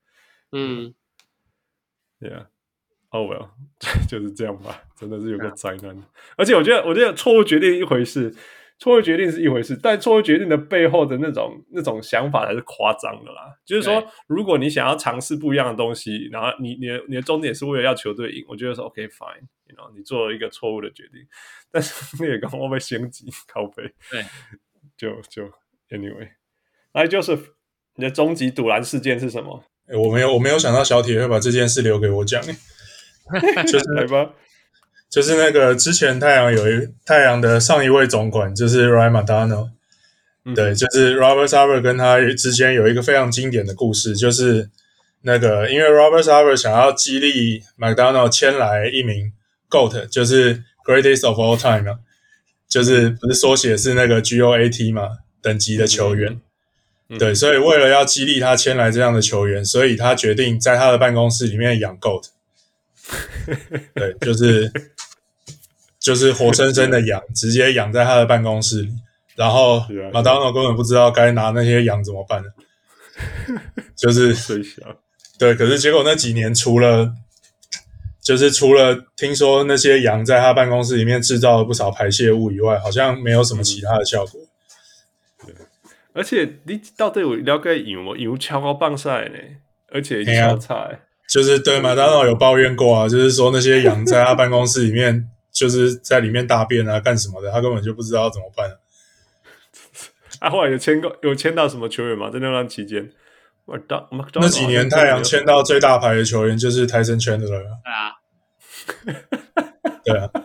嗯 ，Yeah，Oh well， 就是這樣吧，真的是有個災難。而且我覺得，我覺得錯誤決定一回事，錯誤決定是一回事，但錯誤決定的背後的那種那種想法才是誇張的啦。就是說，如果你想要嘗試不一樣的東西，然後你你的你的終點是為了要球隊贏，我覺得說 OK fine，you know， 你做了一個錯誤的決定，但是那也剛好被升級靠背， 對， 就就 anyway， 來 Joseph， 你的終極賭籃事件是什麼？ 欸、我沒有我沒有想到小鐵會把這件事留給我講、欸，就是來吧。 就是那個之前太陽有一太陽的上一位總管就是 Ryan McDonough，、嗯、對，就是 Robert Sarver 跟他之間有一個非常經典的故事，就是那個因為 Robert Sarver 想要激勵 McDonough 簽來一名 G O A T， 就是 Greatest of All Time 嘛，就是不是縮寫是那個 G O A T 嘛，等級的球員，嗯嗯、對，所以為了要激勵他簽來這樣的球員，所以他決定在他的辦公室裡面養 G O A T， 對，就是就是活生生的養，直接養在他的辦公室裡，然後麥當勞根本不知道該拿那些羊怎麼辦了，就是對，可是結果那幾年除了就是除了聽說那些羊在他辦公室裡面製造了不少排泄物以外，好像沒有什麼其他的效果。 對，而且你到底有了解羊嗎？羊超高棒賽呢，而且超菜。 就是對麥當勞有抱怨過啊，就是說那些羊在他辦公室裡面就是在裡面大便啊，幹什麼的，他根本就不知道怎麼辦、啊。 啊，後來有簽過有簽到什麼球員嗎？在那段期間， 那幾年太陽簽到最大牌的球員就是 Tyson Chandler 了。 對啊， 對啊。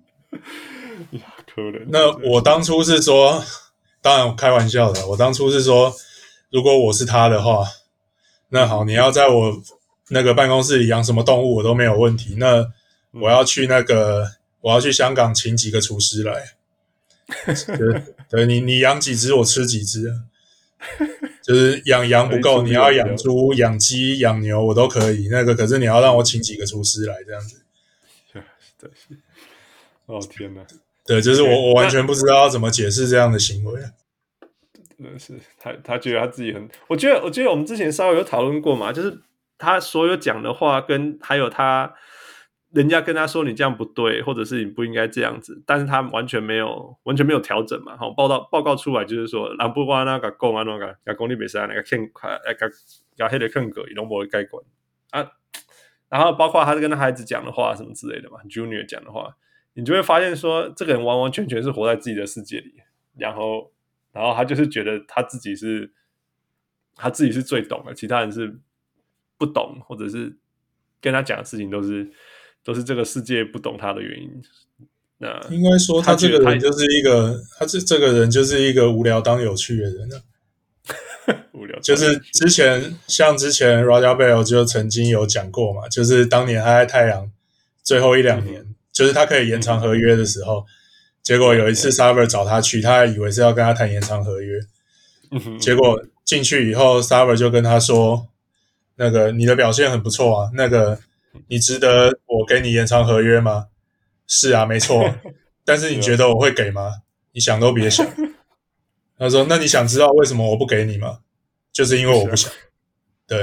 可能。 那我當初是說，當然開玩笑的，我當初是說，如果我是他的話，那好，你要在我那個辦公室裡養什麼動物我都沒有問題。那我要去那個，我要去香港請幾個廚師來。對，對你你養幾隻我吃幾隻啊。就是養羊不夠，你要養豬、養雞、養牛我都可以。那個可是你要讓我請幾個廚師來這樣子。 對，哦天哪！ 對，就是我我完全不知道要怎麼解釋這樣的行為。 真的是他他覺得他自己很，我覺得我覺得我們之前稍微有討論過嘛，就是他所有講的話跟還有他。人家跟他說你這樣不對，或者是你不應該這樣子，但是他完全沒有完全沒有調整嘛。好，報道報告出來就是說，人不管那個講啊那個，講講你袂使那個欠快，那個講迄個欠個，伊攏無會改觀啊。然後包括他跟他孩子講的話什麼之類的嘛 ，Junior 講的話，你就會發現說，這個人完完全全是活在自己的世界裡，然後然後他就是覺得他自己是他自己是最懂的，其他人是不懂，或者是跟他講的事情都是。都是這個世界不懂他的原因。那應該說，他這個人就是一個，他這這個人就是一個無聊當有趣的人啊。無聊就是之前像之前 Raja Bell 就曾經有講過嘛，就是當年他在太陽最後一兩年，嗯、就是他可以延長合約的時候，嗯、結果有一次 Sarver 找他去，他還以為是要跟他談延長合約，嗯、結果進去以後 Sarver 就跟他說：“那個你的表現很不錯啊，那個。”你值得我給你延長合約嗎？是啊，沒錯。但是你覺得我會給嗎？你想都別想。他說：“那你想知道為什麼我不給你嗎？就是因為我不想。”對，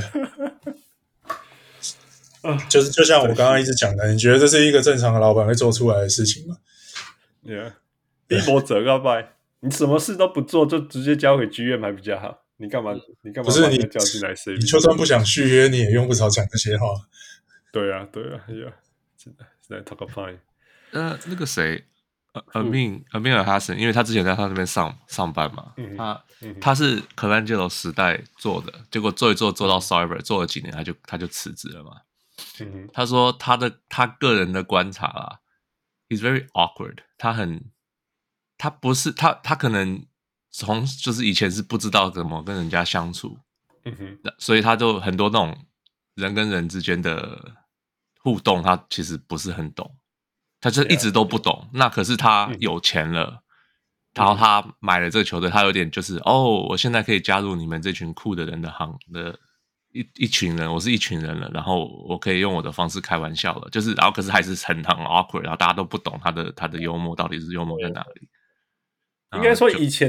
就是就像我剛剛一直講的，你覺得這是一個正常的老闆會做出來的事情嗎？ 對啊，逼迫者告白，你什麼事都不做，就直接交給 G M 還比較好。你幹嘛？你幹嘛？ 不是你叫進來 C B？ 你就算不想續約，你也用不着講這些話。 對啊，對啊，呀，真的是在 talk a point。 呃，那個誰，呃，Amin Amin Elhassan，因為他之前在他那邊上上班嘛，嗯、他、嗯、他是 Colangelo 時代做的，結果做一做做到 Sarver， 做了幾年他就他就辭職了嘛。嗯、他說他的他個人的觀察啊 ，is very awkward， 他很他不是他他可能從就是以前是不知道怎麼跟人家相處，嗯、所以他就很多那種人跟人之間的。互動他其實不是很懂，他就一直都不懂。Yeah. 那可是他有錢了，嗯、然後他買了這個球隊，他有點就是哦，我現在可以加入你們這群酷的人的行的一一群人，我是一群人了，然後我可以用我的方式開玩笑了，就是然後可是還是很很 awkward， 然後大家都不懂他的他的幽默到底是幽默在哪裡。 應該說以前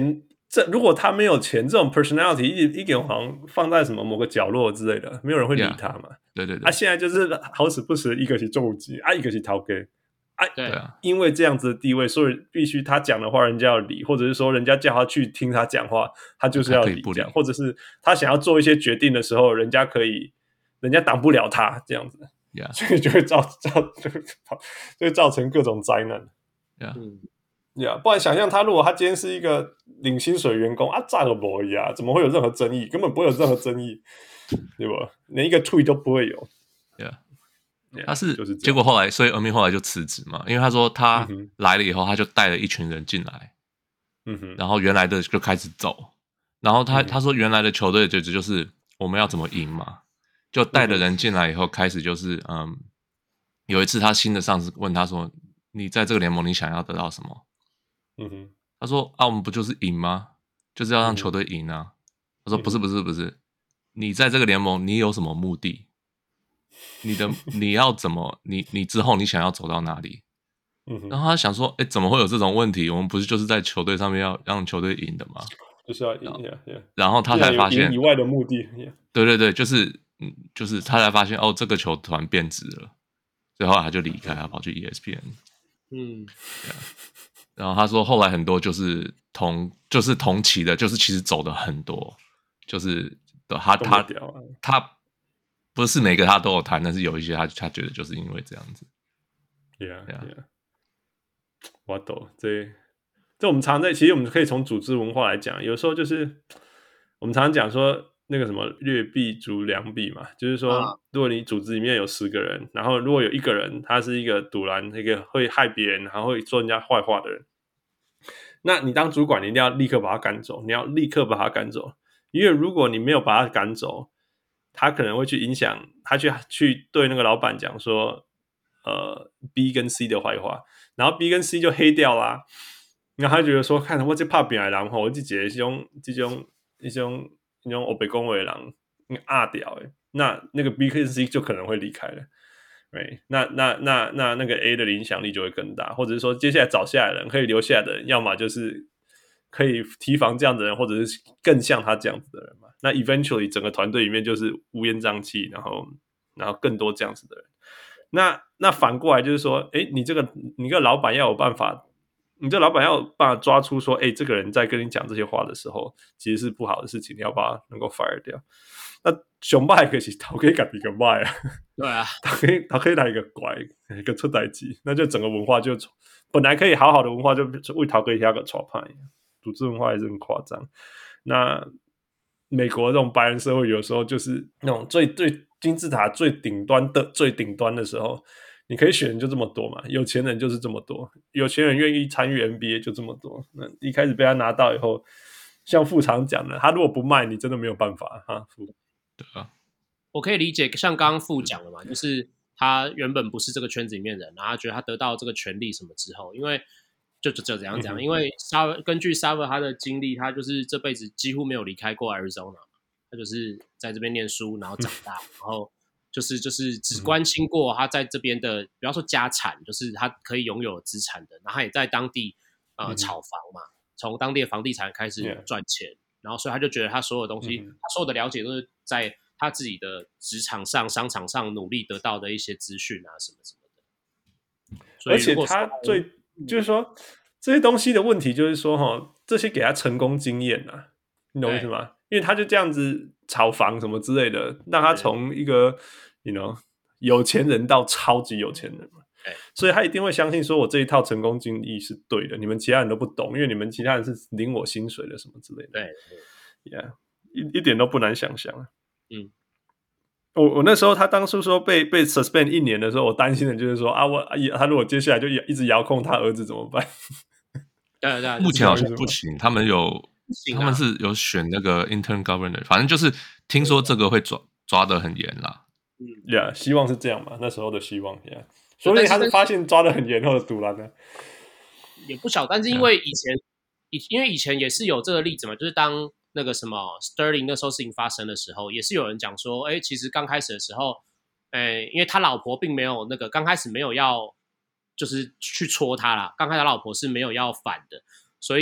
這如果他沒有錢，這種 personality 一一點好像放在什麼某個角落之類的，沒有人會理他嘛。 Yeah, 對對對。 啊，現在就是好死不死，一個是重機啊，一個是頭家啊， 對啊， 因為這樣子的地位，所以必須他講的話人家要理，或者是說人家叫他去聽他講話，他就是要理這樣，或者是他想要做一些決定的時候，人家可以，人家擋不了他這樣子。 Yeah. 所以就會造造就會就會造成各種災難。 Yeah. 嗯， 呀，不然想象他如果他今天是一個領薪水員工啊，咋個不會呀？怎麼會有任何爭議？根本不會有任何爭議，對吧？連一個 tweet 都不會有。 Yeah. Yeah, 他是， 就是結果後來，所以 Ermin 後來就辭職嘛，因為他說他來了以後， 嗯、 他就帶了一群人進來， 嗯哼， 然後原來的就開始走，然後他、嗯、他說原來的球隊就就是我們要怎麼贏嘛，就帶的人進來以後開始就是嗯，有一次他新的上司問他說，你在這個聯盟你想要得到什麼？嗯哼，他說啊，我們不就是贏嗎？就是要讓球隊贏啊。嗯、他說不是不是不是，你在這個聯盟你有什麼目的？你的你要怎麼你你之後你想要走到哪裡？嗯哼，然後他想說，哎，怎麼會有這種問題？我們不是就是在球隊上面要讓球隊贏的嗎？就是要贏呀，然後他才發現以外的目的， 對對對，就是嗯，就是他才發現哦，這個球團變質了，所以後來他就離開，他跑去 E S P N。嗯，然後他說後來很多就是同就是同期的，就是其實走的很多，就是他他他。他不是每個他都有談，但是有一些他他覺得就是因為這樣子。 Yeah, yeah. 我懂，這這我們常在，其實我們可以從組織文化來講，有時候就是我們常常講說那個什麼劣幣逐良幣嘛，就是說，如果你組織裡面有十個人，然後如果有一個人他是一個賭爛，一個會害別人，然後會說人家壞話的人，那你當主管，你一定要立刻把他趕走，你要立刻把他趕走，因為如果你沒有把他趕走，他可能會去影響他去去對那個老闆講說，呃 B 跟 C 的壞話，然後 B 跟 C 就黑掉啦。然後他覺得說，看我這怕扁的人吼，我這這種這種一種一種歐北恭維的人壓掉誒，那那個 B 跟 C 就可能會離開了。Right? 那那那那那個 A 的影響力就會更大，或者是說接下來找下來的人可以留下來的人，要麼就是可以提防這樣的人，或者是更像他這樣子的人嘛。那 eventually 整個團隊裡面就是烏煙瘴氣，然後然後更多這樣子的人。那那反過來就是說，誒，你這個你這個老闆要有辦法，你這個老闆要有辦法抓出說，誒，這個人在跟你講這些話的時候，其實是不好的事情，你要把他能夠 fire 掉。那熊敗可是頭可以改一個壞啊， 對啊， 他可以他可以來一個怪一個出代誌，那就整個文化就本來可以好好的文化就為頭可以下個錯派，組織文化也是很誇張。那美國這種白人社會有時候就是那種最最金字塔最頂端的最頂端的時候，你可以選人就這麼多嘛，有錢人就是這麼多，有錢人願意參與 N B A 就這麼多。那一開始被他拿到以後，像副常講的，他如果不賣，你真的沒有辦法哈。 對啊， 我可以理解，像剛剛副講的嘛，就是他原本不是這個圈子裡面的人，然後他覺得他得到這個權利什麼之後，因為就就就怎樣講，因為根據 Sarver 他的經歷，他就是這輩子幾乎沒有離開過 Arizona， 他就是在這邊念書，然後長大，然後就是就是只關心過他在這邊的，比方說家產，就是他可以擁有資產的，然後他也在當地呃炒房嘛，從當地的房地產開始賺錢， yeah. 然後所以他就覺得他所有東西，他所有的了解都是在他自己的職場上、商場上努力得到的一些資訊啊，什麼什麼的。所以而且他最就是說這些東西的問題，就是說哈，這些給他成功經驗啊，你懂我意思嗎？因為他就這樣子炒房什麼之類的，讓他從一個 you know 有錢人到超級有錢人嘛，所以他一定會相信說，我這一套成功經歷是對的，你們其他人都不懂，因為你們其他人是領我薪水的什麼之類的。 對， 對，yeah, 一一點都不難想象啊。 嗯。 我我那時候他當初說被被 suspend 一年的時候，我擔心的就是說啊，我他如果接下來就一直遙控他兒子怎麼辦？ 對對， 目前好像不行，他們有、啊、他們是有選那個 intern governor， 反正就是聽說這個會抓抓得很嚴啦。 嗯，呀、yeah, 希望是這樣嘛，那時候的希望呀。Yeah. 所以他是發現抓得很嚴後的賭爛呢， 也不小，但是因為以前以、yeah. 因為以前也是有這個例子嘛，就是當。那個什麼 Sterling 那時候事情發生的時候，也是有人講說，哎，其實剛開始的時候，哎，因為他老婆並沒有那個剛開始沒有要就是去戳他啦，剛開始他老婆是沒有要反的，所以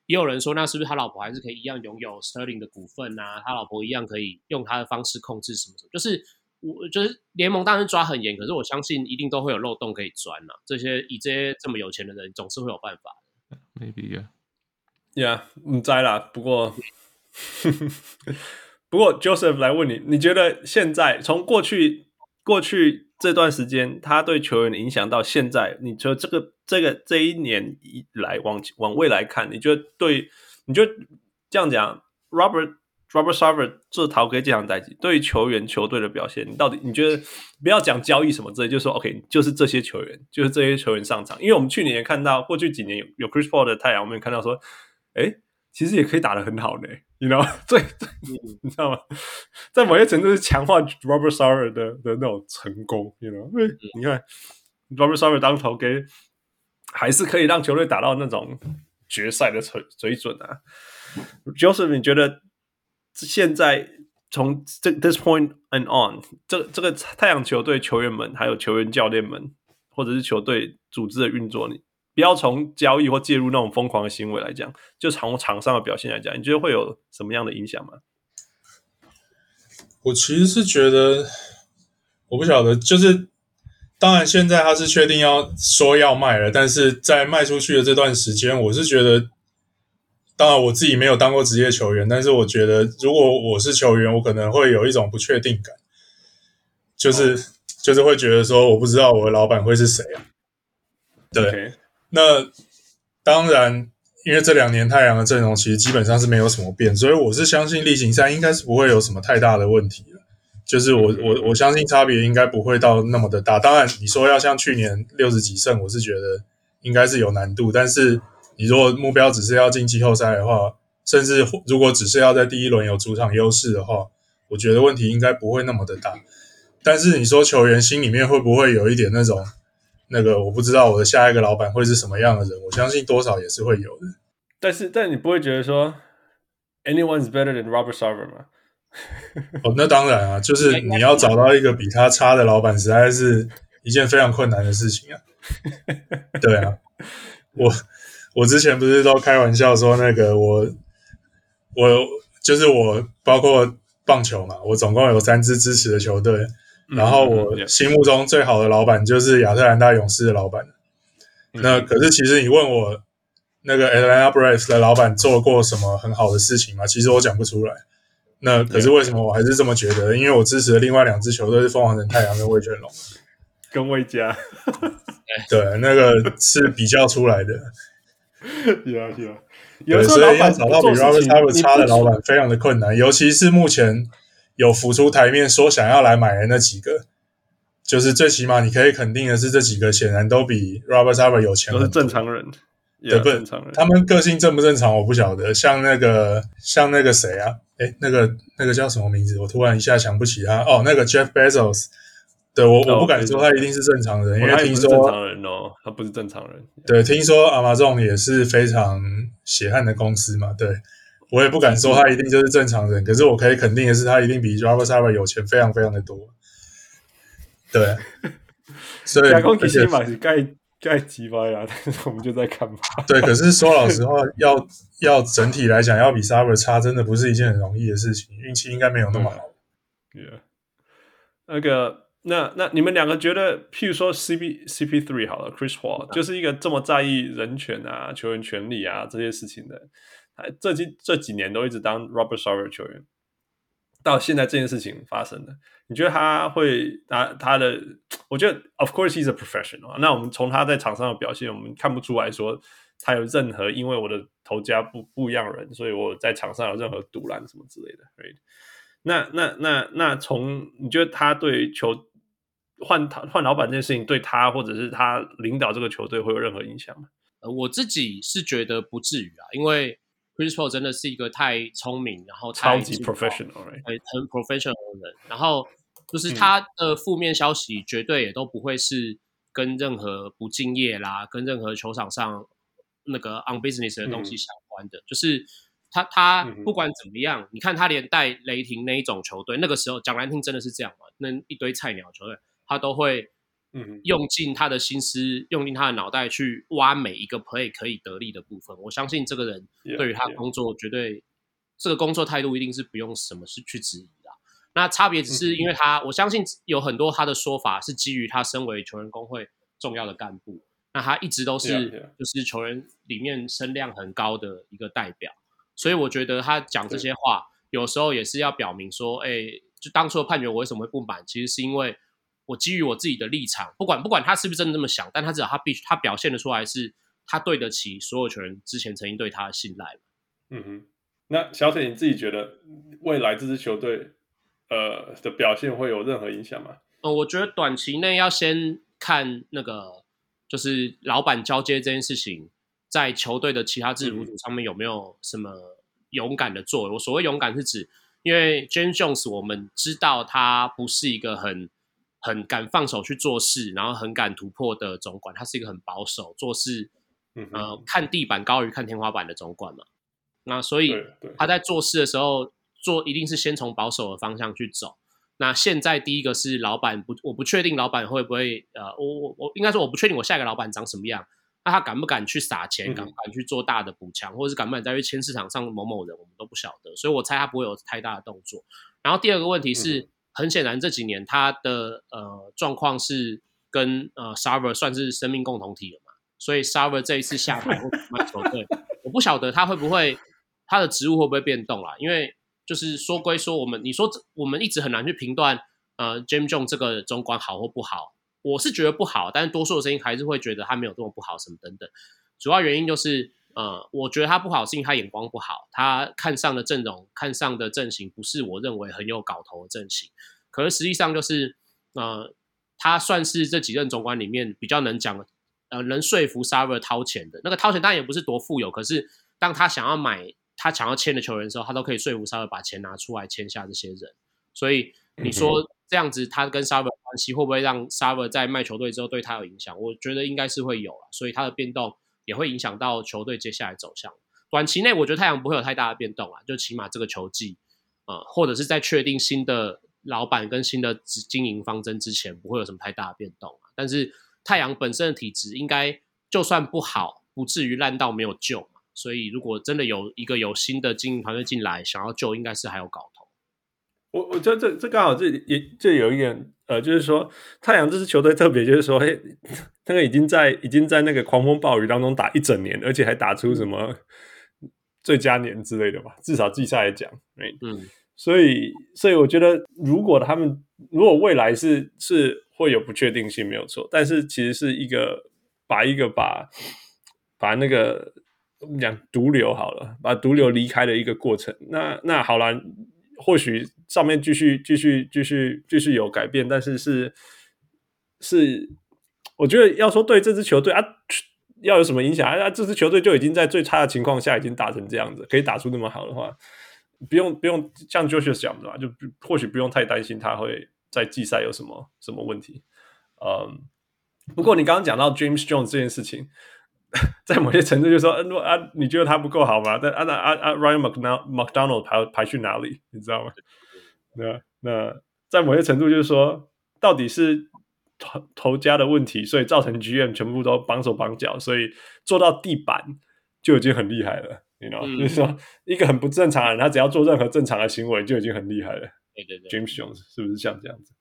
也有人說，那是不是他老婆還是可以一樣擁有 Sterling 的股份啊？他老婆一樣可以用他的方式控制什麼什麼？就是我就是聯盟當然抓很嚴，可是我相信一定都會有漏洞可以鑽啊。這些以這些這麼有錢的人，總是會有辦法的。 Maybe yeah， 唔知啦。不過不過 Joseph 來問你，你覺得現在從過去過去這段時間，他對球員的影響到現在，你覺得這個這個這一年以來往往未來看，你覺得對？你覺得這樣講 ，Robert Robert Sarver 這逃給這場代誌，對於球員球隊的表現，你到底你覺得不要講交易什麼之類，就說 OK， 就是這些球員，就是這些球員上場，因為我們去年也看到，過去幾年有有 Chris Paul 的太陽，我們也看到說，哎，其實也可以打得很好呢 ，you know， 對，你知道嗎？在某些程度是強化 Robert Sarver 的的那種成功 ，you know， 你看 Robert Sarver 當投給，還是可以讓球隊打到那種決賽的水水準啊。Joseph， 你覺得現在從這 this point and on， 這這個太陽球隊球員們，還有球員教練們，或者是球隊組織的運作，你不要從交易或介入那種瘋狂的行為來講，就從場上的表現來講，你覺得會有什麼樣的影響嗎？ 我其實是覺得，我不曉得，就是當然現在他是確定要說要賣了，但是在賣出去的這段時間，我是覺得，當然我自己沒有當過職業球員，但是我覺得如果我是球員，我可能會有一種不確定感，就是、oh. 就是會覺得說，我不知道我的老闆會是誰啊。對，okay. 那當然，因為這兩年太陽的陣容其實基本上是沒有什麼變，所以我是相信例行賽應該是不會有什麼太大的問題了。就是我我我相信差別應該不會到那麼的大。當然，你說要像去年六十幾勝，我是覺得應該是有難度。但是你如果目標只是要進季後賽的話，甚至如果只是要在第一輪有主場優勢的話，我覺得問題應該不會那麼的大。但是你說球員心裡面會不會有一點那種？那個我不知道我的下一個老闆會是什麼樣的人，我相信多少也是會有的。 但是，但你不會覺得說 anyone's better than Robert Sarver 嗎？ 哦，那當然啊，就是你要找到一個比他差的老闆，實在是一件非常困難的事情啊。對啊，我我之前不是都開玩笑說，那個我我就是我，包括棒球嘛，我總共有三支支持的球隊。然後我心目中最好的老闆就是亞特蘭大勇士的老闆。嗯、那可是其實你問我那個 Atlanta Braves 的老闆做過什麼很好的事情嗎？其實我講不出來。那可是為什麼我還是這麼覺得？因為我支持的另外兩支球隊是鳳凰城太陽跟味全龍， 跟味家。 對，那個是比較出來的。 有啊有啊， 有時候所以要找到比 Robert Sarver 差的老闆非常的困難，尤其是目前有浮出台面說想要來買的那幾個，就是最起碼你可以肯定的是，這幾個顯然都比 Robert Sarver 有錢很多， 都是正常人， 對不對？他們個性正不正常我不曉得。像那個像那個誰啊，誒那個那個叫什麼名字？我突然一下想不起他。哦，那個 Jeff Bezos。對，我我不敢說他一定是正常人，因為聽說正常人哦，他不是正常人。 對，聽說 Amazon 也是非常血汗的公司嘛，對。我也不敢說他一定就是正常人，可是我可以肯定的是，他一定比 Robert Sarver 有錢非常非常的多。對，所以講其實嘛是該該擊敗啦，但是我們就在看嘛。 對，可是說老實話，要要整體來講，要比 Sarver 差，真的不是一件很容易的事情，運氣應該沒有那麼好。 對、yeah. 那個，那那你們兩個覺得，譬如說 C P C P 三好了 ，Chris Paul 就是一個這麼在意人權啊、球員權利啊這些事情的。這幾這幾年都一直當 Robert Sarver 球員，到現在這件事情發生了，你覺得他會他他的？我覺得 Of course he's a professional。那我們從他在場上的表現，我們看不出來說他有任何因為我的頭家不不一樣人，所以我在場上有任何賭爛什麼之類的。Right？那那那那從你覺得他對球換換老闆這件事情對他或者是他領導這個球隊會有任何影響嗎？ 呃，我自己是覺得不至於啊，因為Chris Paul 真的是一個太聰明，然後太超級 professional， right? 很很 professional 的人。然後就是他的負面消息絕對也都不會是跟任何不敬業啦，跟任何球場上那個 on business 的東西相關的。嗯、就是他他不管怎麼樣，嗯、你看他連帶雷霆那一種球隊，那個時候講難聽真的是這樣嘛，那一堆菜鳥球隊，他都會嗯，用盡他的心思，用盡他的腦袋去挖每一個 play 可以得力的部分。我相信這個人對於他工作絕對 yeah, yeah. 這個工作態度一定是不用什麼事去質疑的。那差別只是因為他，嗯、我相信有很多他的說法是基於他身為球員工會重要的幹部，那他一直都是 yeah, yeah. 就是球員裡面聲量很高的一個代表，所以我覺得他講這些話有時候也是要表明說，哎，就當初的判決我為什麼會不滿，其實是因為我基於我自己的立場，不管不管他是不是真的這麼想，但他至少他必須他表現得出來是他對得起所有球員之前曾經對他的信賴。 嗯哼，那小鐵你自己覺得未來這支球隊呃的表現會有任何影響嗎？ 呃，我覺得短期內要先看那個就是老闆交接這件事情，在球隊的其他制服組上面有沒有什麼勇敢的作為。我所謂勇敢是指，因為 James Jones 我們知道他不是一個很很敢放手去做事，然後很敢突破的總管，他是一個很保守做事，呃，看地板高於看天花板的總管嘛。那所以他在做事的時候，做一定是先從保守的方向去走。那現在第一個是老板不，我不確定老板會不會，呃，我我我應該說我不確定我下一個老板長什麼樣。那他敢不敢去撒錢，敢不敢去做大的補強，或者是敢不敢再去簽市場上某某人，我們都不曉得。所以我猜他不會有太大的動作。然後第二個問題是，嗯、很顯然這幾年他的呃狀況是跟呃 Sarver 算是生命共同體了嘛，所以 Sarver 這一次下台或賣球隊，我不曉得他會不會他的職務會不會變動啦，因為就是說歸說，我們你說我們一直很難去評斷呃 James Jones 這個總管好或不好。我是覺得不好，但是多數的聲音還是會覺得他沒有這麼不好，什麼等等。主要原因就是，呃，我覺得他不好是因為他眼光不好，他看上的陣容、看上的陣型不是我認為很有搞頭的陣型。可是實際上就是，呃，他算是這幾任總管裡面比較能講，呃，能說服 Sarver 掏錢的。那個掏錢當然也不是多富有，可是當他想要買、他想要簽的球員的時候，他都可以說服 Sarver 把錢拿出來簽下這些人。所以你說。嗯這樣子，他跟 Sarver 的關係會不會讓 Sarver 在賣球隊之後對他有影響？我覺得應該是會有啦，所以他的變動也會影響到球隊接下來走向。短期內，我覺得太陽不會有太大的變動啦，就起碼這個球季，呃，或者是在確定新的老闆跟新的經營方針之前，不會有什麼太大的變動。但是太陽本身的體質應該就算不好，不至於爛到沒有救嘛。所以如果真的有一個有新的經營團隊進來想要救，應該是還有搞頭。 我我覺得這這剛好這也這有一點呃，就是說太陽這支球隊特別，就是說，嘿，那個已經在已經在那個狂風暴雨當中打一整年，而且還打出什麼最佳年之類的吧，至少季賽來講，嗯，所以所以我覺得，如果他們如果未來是是會有不確定性，沒有錯，但是其實是一個把一個把把那個我們講毒瘤好了，把毒瘤離開的一個過程，那那好了。或許上面繼續繼續繼續繼續有改變，但是是是，我覺得要說對這支球隊啊，要有什麼影響啊？這支球隊就已經在最差的情況下已經打成這樣子，可以打出那麼好的話，不用不用像 Joshua 講的嘛，就或許不用太擔心他會在季賽有什麼什麼問題。嗯，不過你剛剛講到 James Jones 這件事情。在某些程度就是說，嗯啊，你覺得他不夠好嗎？但啊那啊啊 Ryan McDonald 排排去哪裡？你知道嗎？那那在某些程度就是說，到底是頭頭家的問題，所以造成 G M 全部都綁手綁腳，所以做到地板就已經很厲害了。你知道，就是說一個很不正常的人，他只要做任何正常的行為就已經很厲害了。 對對對 ，James Jones 是不是像這樣子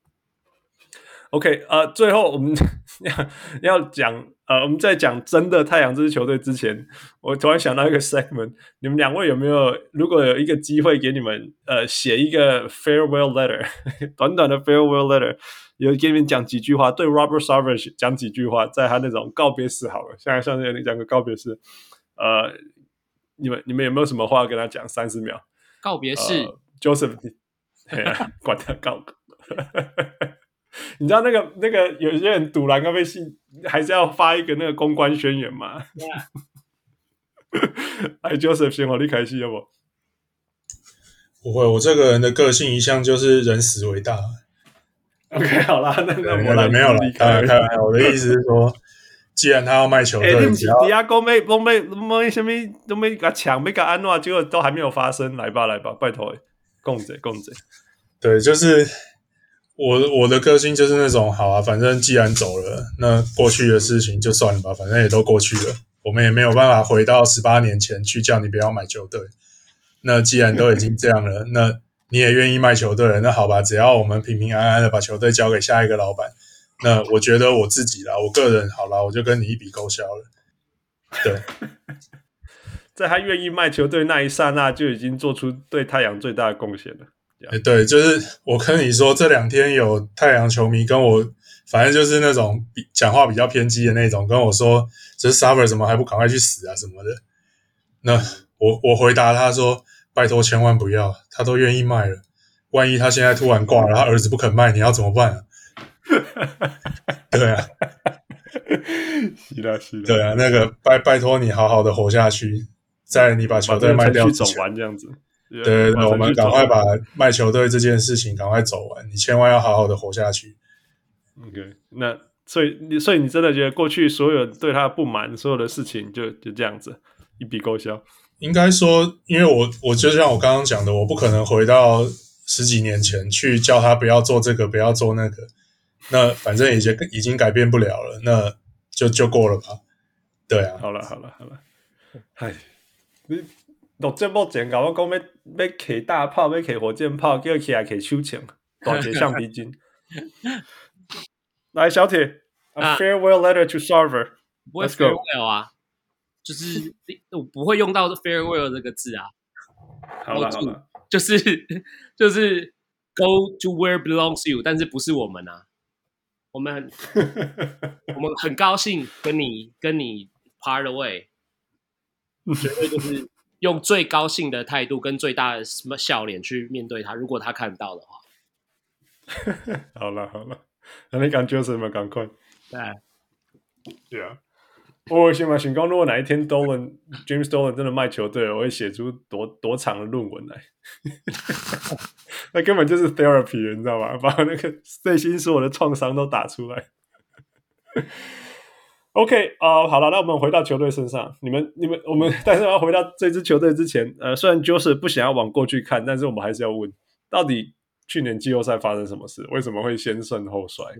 ？OK， 呃，最後我們要要講。呃，我們在講真的太陽這支球隊之前，我突然想到一個 segment， 你們兩位有沒有，如果有一個機會給你們，呃，寫一個 farewell letter， 短短的 farewell letter， 有給你們講幾句話，對 Robert Sarver 講幾句話，在他那種告別式好了，現在像你講個告別式，呃，你們你們有沒有什麼話跟他講？三十秒。 告別式、呃、，Joseph， 管他告。你知道那個那個有些人賭籃咖啡系還是要發一個那個公關宣言嘛？哎 ，Joseph 先，我你開始要不？ 不會，我這個人的個性一向就是人死為大。 OK， 好啦，那那我來沒有了，開開開，我的意思是說，既然他要賣球隊， 欸、你只要底下講沒都沒都沒什麼都沒給他搶，沒給他安諾，結果都還沒有發生，來吧來吧，拜託，共者共者， 對，就是。 我我的個性就是那種好啊，反正既然走了，那過去的事情就算了吧，反正也都過去了，我們也沒有辦法回到十八年前去叫你不要買球隊。那既然都已經這樣了，那你也願意賣球隊了，那好吧，只要我們平平安安的把球隊交給下一個老闆，那我覺得我自己啦，我個人好啦，我就跟你一筆勾銷了。對， 在他願意賣球隊那一剎那，就已經做出對太陽最大的貢獻了。 欸、對，就是我跟你說，這兩天有太陽球迷跟我，反正就是那種比講話比較偏激的那種，跟我說，這 Sarver 怎麼還不趕快去死啊什麼的。那我我回答他說，拜託千萬不要，他都願意賣了，萬一他現在突然掛了，他兒子不肯賣，你要怎麼辦啊？對啊， 是的，是的， 對啊，那個拜拜託你好好的活下去，在你把球隊賣掉之前， 走完這樣子。 對對對，我們趕快把賣球隊這件事情趕快走完，你千萬要好好的活下去。 OK， 那所以你所以你真的覺得過去所有對他的不滿，所有的事情就就這樣子一筆勾銷？ 應該說，因為我我就像我剛剛講的，我不可能回到十幾年前去叫他不要做這個，不要做那個。那反正已經已經改變不了了，那就就過了吧。對啊， 好了好了好了，唉，你。錄節目前甲我講要要摕大炮，要摕火箭炮，叫起來摕手槍，大隻橡皮筋。來，小鐵、啊、，A farewell letter to Sarver。 不會 farewell 啊，就是我不會用到 farewell 這個字啊。 好了好了， 就是就是 go to where belongs you， 但是不是我們啊，我們我們很高興跟你跟你 part away， 絕對就是。用最高興的態度跟最大的笑臉去面對他，如果他看到的話。 好了好了，那你感覺什麼？趕快。 對， 對啊。我先嘛想講，如果哪一天 Dolan James Dolan 真的賣球隊了，我會寫出多多長的論文來。那根本就是 therapy， 你知道嗎？把那個內心所有的創傷都打出來。OK 啊、呃，好了，那我們回到球隊身上。你們、你們、我們，但是要回到這支球隊之前，呃，雖然 Joseph 不想要往過去看，但是我們還是要問，到底去年季後賽發生什麼事？為什麼會先勝後衰？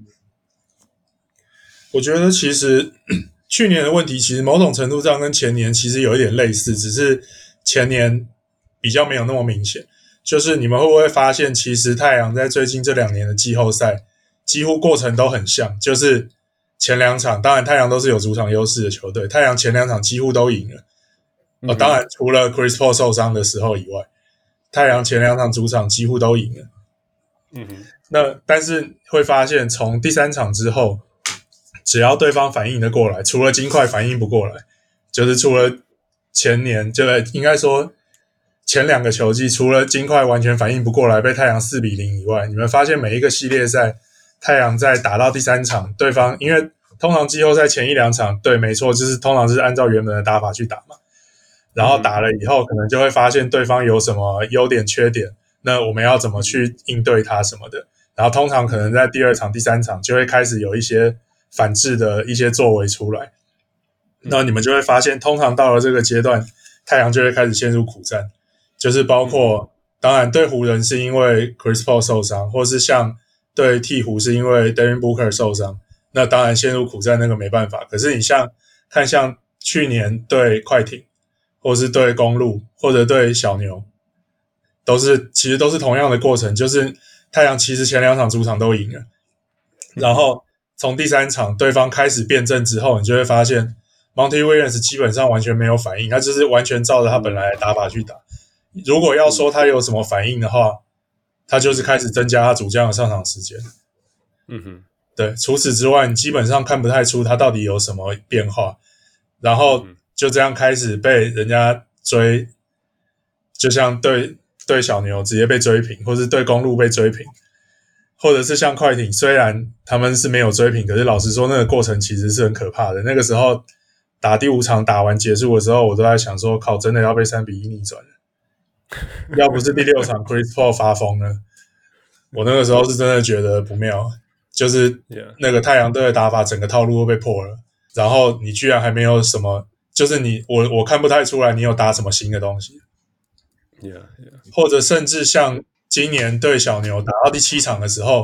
我覺得其實去年的問題，其實某種程度上跟前年其實有一點類似，只是前年比較沒有那麼明顯。就是你們會不會發現，其實太陽在最近這兩年的季後賽，幾乎過程都很像，就是。前兩場，當然太陽都是有主場優勢的球隊，太陽前兩場幾乎都贏了。嗯、哦，當然除了 Chris Paul 受傷的時候以外，太陽前兩場主場幾乎都贏了。嗯哼，那但是會發現，從第三場之後，只要對方反應得過來，除了金塊反應不過來，就是除了前年，就應該說前兩個球季，除了金塊完全反應不過來，被太陽四比零以外，你們發現每一個系列賽。太陽在打到第三場，對方因為通常季後賽前一兩場，對，沒錯，就是通常是按照原本的打法去打嘛。然後打了以後，可能就會發現對方有什麼優點、缺點，那我們要怎麼去應對他什麼的。然後通常可能在第二場、第三場就會開始有一些反制的一些作為出來。那你們就會發現，通常到了這個階段，太陽就會開始陷入苦戰，就是包括當然對湖人是因為 Chris Paul 受傷，或是像。對鹈鶘是因為 Devin Booker 受傷，那當然陷入苦戰，那個沒辦法。可是你像看像去年對快艇，或是對公鹿，或者對小牛，都是其實都是同樣的過程，就是太陽其實前兩場主場都贏了，然後從第三場對方開始變陣之後，你就會發現 Monty Williams 基本上完全沒有反應，他就是完全照着他本來的打法去打。如果要說他有什麼反應的話，他就是開始增加他主將的上場時間。嗯哼，對。除此之外，你基本上看不太出他到底有什麼變化。然後就這樣開始被人家追，就像對對小牛直接被追平，或是對公鹿被追平，或者是像快艇，雖然他們是沒有追平，可是老實說，那個過程其實是很可怕的。那個時候打第五場打完結束的時候，我都在想說，靠，真的要被三比一逆轉了。要不是第六場 Chris Paul 發瘋了，我那個時候是真的覺得不妙，就是那個太陽隊的打法整個套路都被破了，然後你居然還沒有什麼，就是你我我看不太出來你有打什麼新的東西， yeah, yeah. 或者甚至像今年對小牛打到第七場的時候，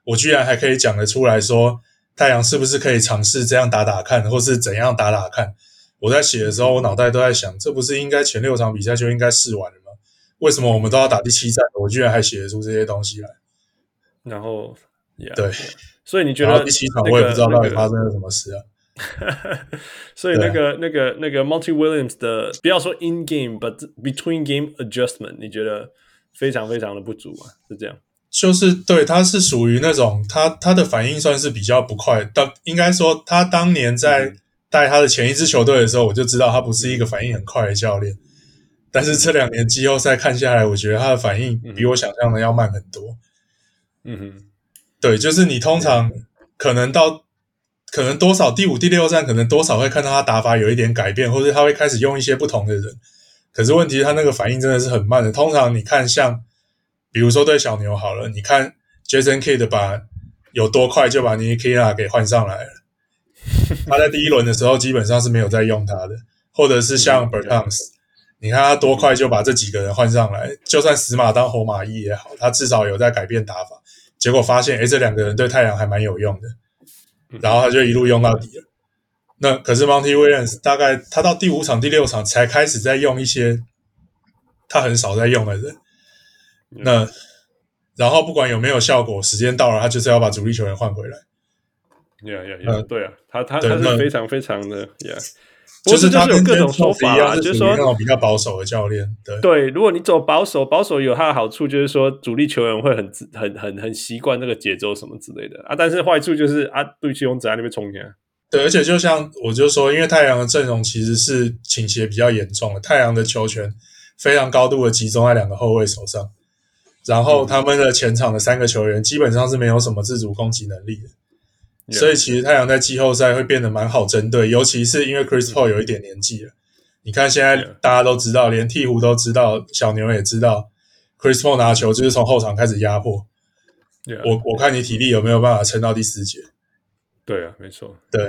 我居然還可以講得出來說太陽是不是可以嘗試這樣打打看，或是怎樣打打看。我在寫的時候，我腦袋都在想，這不是應該前六場比賽就應該試完了嗎？為什麼我們都要打第七戰？我居然還寫得出這些東西來。 然後， yeah, 對， 所以你覺得第七場我也不知道到底發生了什麼事啊。 所以那個、啊、那個那個 Monty Williams 的，不要說 in game，but between game adjustment， 你覺得非常非常的不足啊？是這樣？ 就是對，他是屬於那種他他的反應算是比較不快，當應該說他當年在帶他的前一支球隊的時候，我就知道他不是一個反應很快的教練。但是這兩年季後賽看下來，我覺得他的反應比我想象的要慢很多。 嗯哼， 對，就是你通常可能到可能多少第五、第六戰，可能多少會看到他打法有一點改變，或者他會開始用一些不同的人。可是問題是他那個反應真的是很慢的。通常你看像比如說對小牛好了，你看 Jason Kidd 把有多快就把 Ntilikina 給換上來了。他在第一輪的時候基本上是沒有在用他的，或者是像 Bertans， 你看他多快就把這幾個人換上來，就算死馬當活馬醫也好，他至少有在改變打法。結果發現，誒，這兩個人對太陽還蠻有用的，然後他就一路用到底了。那可是 Monty Williams 大概他到第五場、第六場才開始在用一些他很少在用的人。那然後不管有沒有效果，時間到了，他就是要把主力球員換回來。 Yeah, yeah, yeah、呃、對啊，他他他是非常非常的 ，Yeah， 就是他有各種說法啊， 就是說那種比較保守的教練。對對，如果你走保守，保守有他的好處，就是說主力球員會很很很很習慣這個節奏什麼之類的啊。但是壞處就是啊，對球員只在那邊衝擊。 對，而且就像我就說，因為太陽的陣容其實是傾斜比較嚴重的，太陽的球權非常高度的集中在兩個後衛手上，然後他們的前場的三個球員基本上是沒有什麼自主攻擊能力的。Yeah. 所以其實太陽在季後賽會變得蠻好針對，尤其是因為 Chris Paul 有一點年紀了。你看現在大家都知道，連鹈鶘都知道，小牛也知道 ，Chris Paul 拿球就是從後場開始壓迫。 Yeah. 我我看你體力有沒有辦法撐到第四節？ 對啊，沒錯。 對。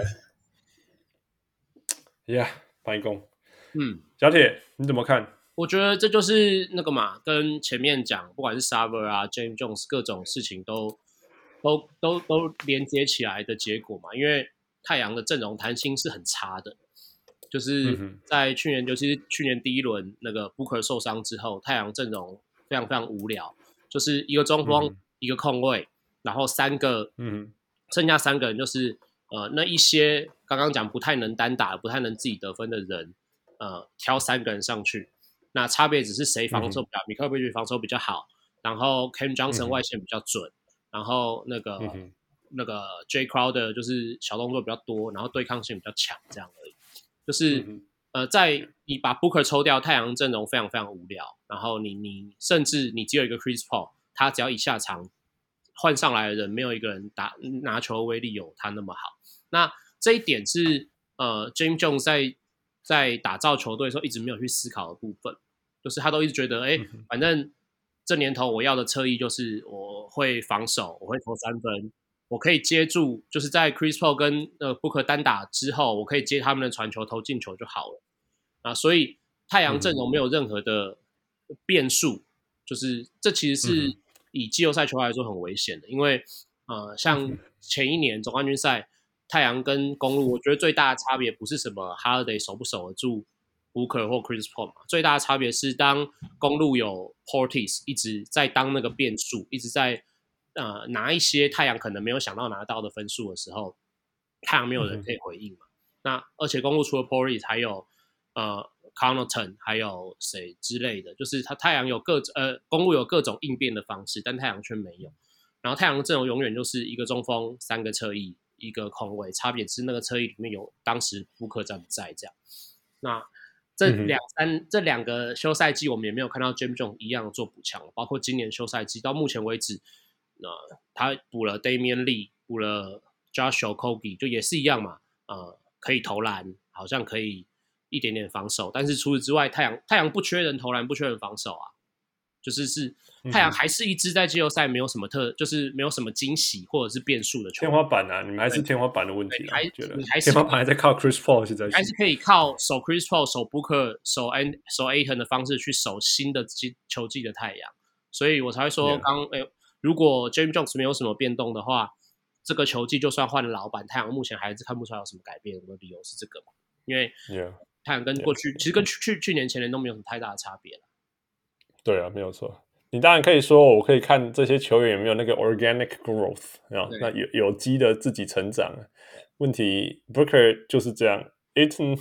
Yeah， 白宮。 嗯， 小鐵你怎麼看？ 我覺得這就是那個嘛，跟前面講，不管是 Sarver 啊、James Jones 各種事情都。都都都連接起來的結果嘛，因為太陽的陣容彈性是很差的，就是在去年，尤其是去年第一輪那個 Booker 受傷之後，太陽陣容非常非常無聊，就是一個中鋒、嗯、一個控衛，然後三個，嗯，剩下三個人就是呃那一些剛剛講不太能單打、不太能自己得分的人，呃，挑三個人上去，那差別只是誰防守比較，米克爾貝奇防守比較好，然後 Cam Johnson 外線比較準。嗯然後那個、嗯、那個 Jay Crowder 就是小動作比較多，然後對抗性比較強，這樣而已。就是、嗯、呃，在你把 Booker 抽掉，太陽陣容非常非常無聊。然後你你甚至你只有一個 Chris Paul， 他只要一下場換上來的人，沒有一個人打拿球的威力有他那麼好。那這一點是呃 James Jones 在在打造球隊的時候一直沒有去思考的部分，就是他都一直覺得，哎，反正。這年頭我要的側翼就是我會防守，我會投三分，我可以接住，就是在 Chris Paul 跟呃 Booker 單打之後，我可以接他們的傳球投進球就好了啊。所以太陽陣容沒有任何的變數，嗯、就是這其實是以季後賽球來說很危險的，因為呃像前一年總冠軍賽，太陽跟公鹿，我覺得最大的差別不是什麼 Holiday 守不守得住Booker 或 Chris Paul 嘛，最大的差別是當公鹿有 Portis 一直在當那個變數，一直在呃拿一些太陽可能沒有想到拿到的分數的時候，太陽沒有人可以回應嘛。嗯、那而且公鹿除了 Portis 還有呃 Connaughton 還有誰之類的，就是他太陽有各呃公鹿有各種應變的方式，但太陽卻沒有。然後太陽的陣容永遠就是一個中鋒、三個側翼、一個控衛，差別是那個側翼裡面有當時Booker在不在這樣。那這兩三、嗯、這兩個休賽季，我們也沒有看到 James Jones 一樣做補強，包括今年休賽季到目前為止，呃，他補了 Damian Lee， 補了 Josh Okogie， 就也是一樣嘛，呃，可以投籃，好像可以一點點防守，但是除此之外，太陽太陽不缺人投籃，不缺人防守啊，就是是太陽還是一支在季後賽沒有什麼特，就是沒有什麼驚喜或者是變數的球隊。 天花板啊，你們還是天花板的問題啊， 還覺得你還是天花板還在靠 Chris Paul 現在， 還是可以靠守 Chris Paul、守 Booker、守 An 守 Ayton 的方式去守新的球季的太陽，所以我才會說剛誒、yeah. 欸， 如果 James Jones 沒有什麼變動的話，這個球季就算換了老闆，太陽目前還是看不出來有什麼改變。我的理由是這個嘛，因為太陽跟過去 yeah, 其實跟去去年前年都沒有什麼太大的差別了。 對啊，沒有錯。你當然可以說，我可以看這些球員有沒有那個 organic growth 啊，那有有機的自己成長。問題 Booker 就是這樣 ，Ayton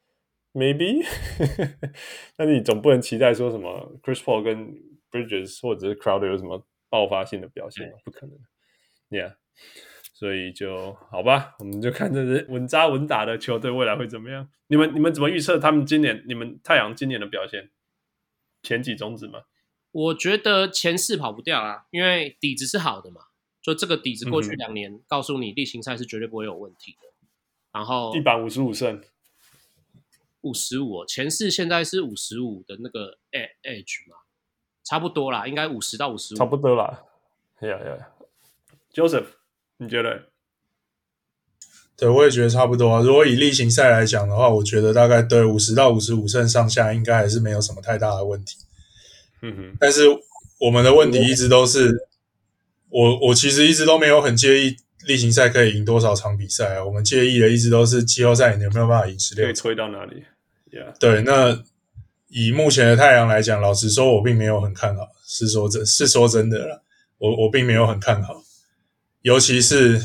maybe， 但是你總不能期待說什麼 Chris Paul 跟 Bridges 或者是 Crowder 有什麼爆發性的表現，不可能。Yeah， 所以就好吧，我們就看這是穩紮穩打的球隊未來會怎麼樣。你們你們怎麼預測他們今年你們太陽今年的表現？前幾種子嗎？ 我覺得前四跑不掉啊，因為底子是好的嘛。就這個底子，過去兩年、嗯、告訴你，例行賽是絕對不會有問題的。然後地板五十五勝， 五十五，前四現在是五十五的那個 edge 嘛，差不多啦，應該五十到五十五， 差不多啦。Yeah, yeah. Joseph， 你覺得？ 對，我也覺得差不多啊。如果以例行賽來講的話，我覺得大概對五十到五十五勝上下，應該還是沒有什麼太大的問題。 嗯哼。 但是我們的問題一直都是，我我其實一直都沒有很介意例行賽可以贏多少場比賽啊。我們介意的一直都是季後賽你有沒有辦法贏十六場， 可以推到哪裡 ？Yeah。 對，那以目前的太陽來講，老實說，我並沒有很看好。是說真，是說真的啦，我我並沒有很看好，尤其是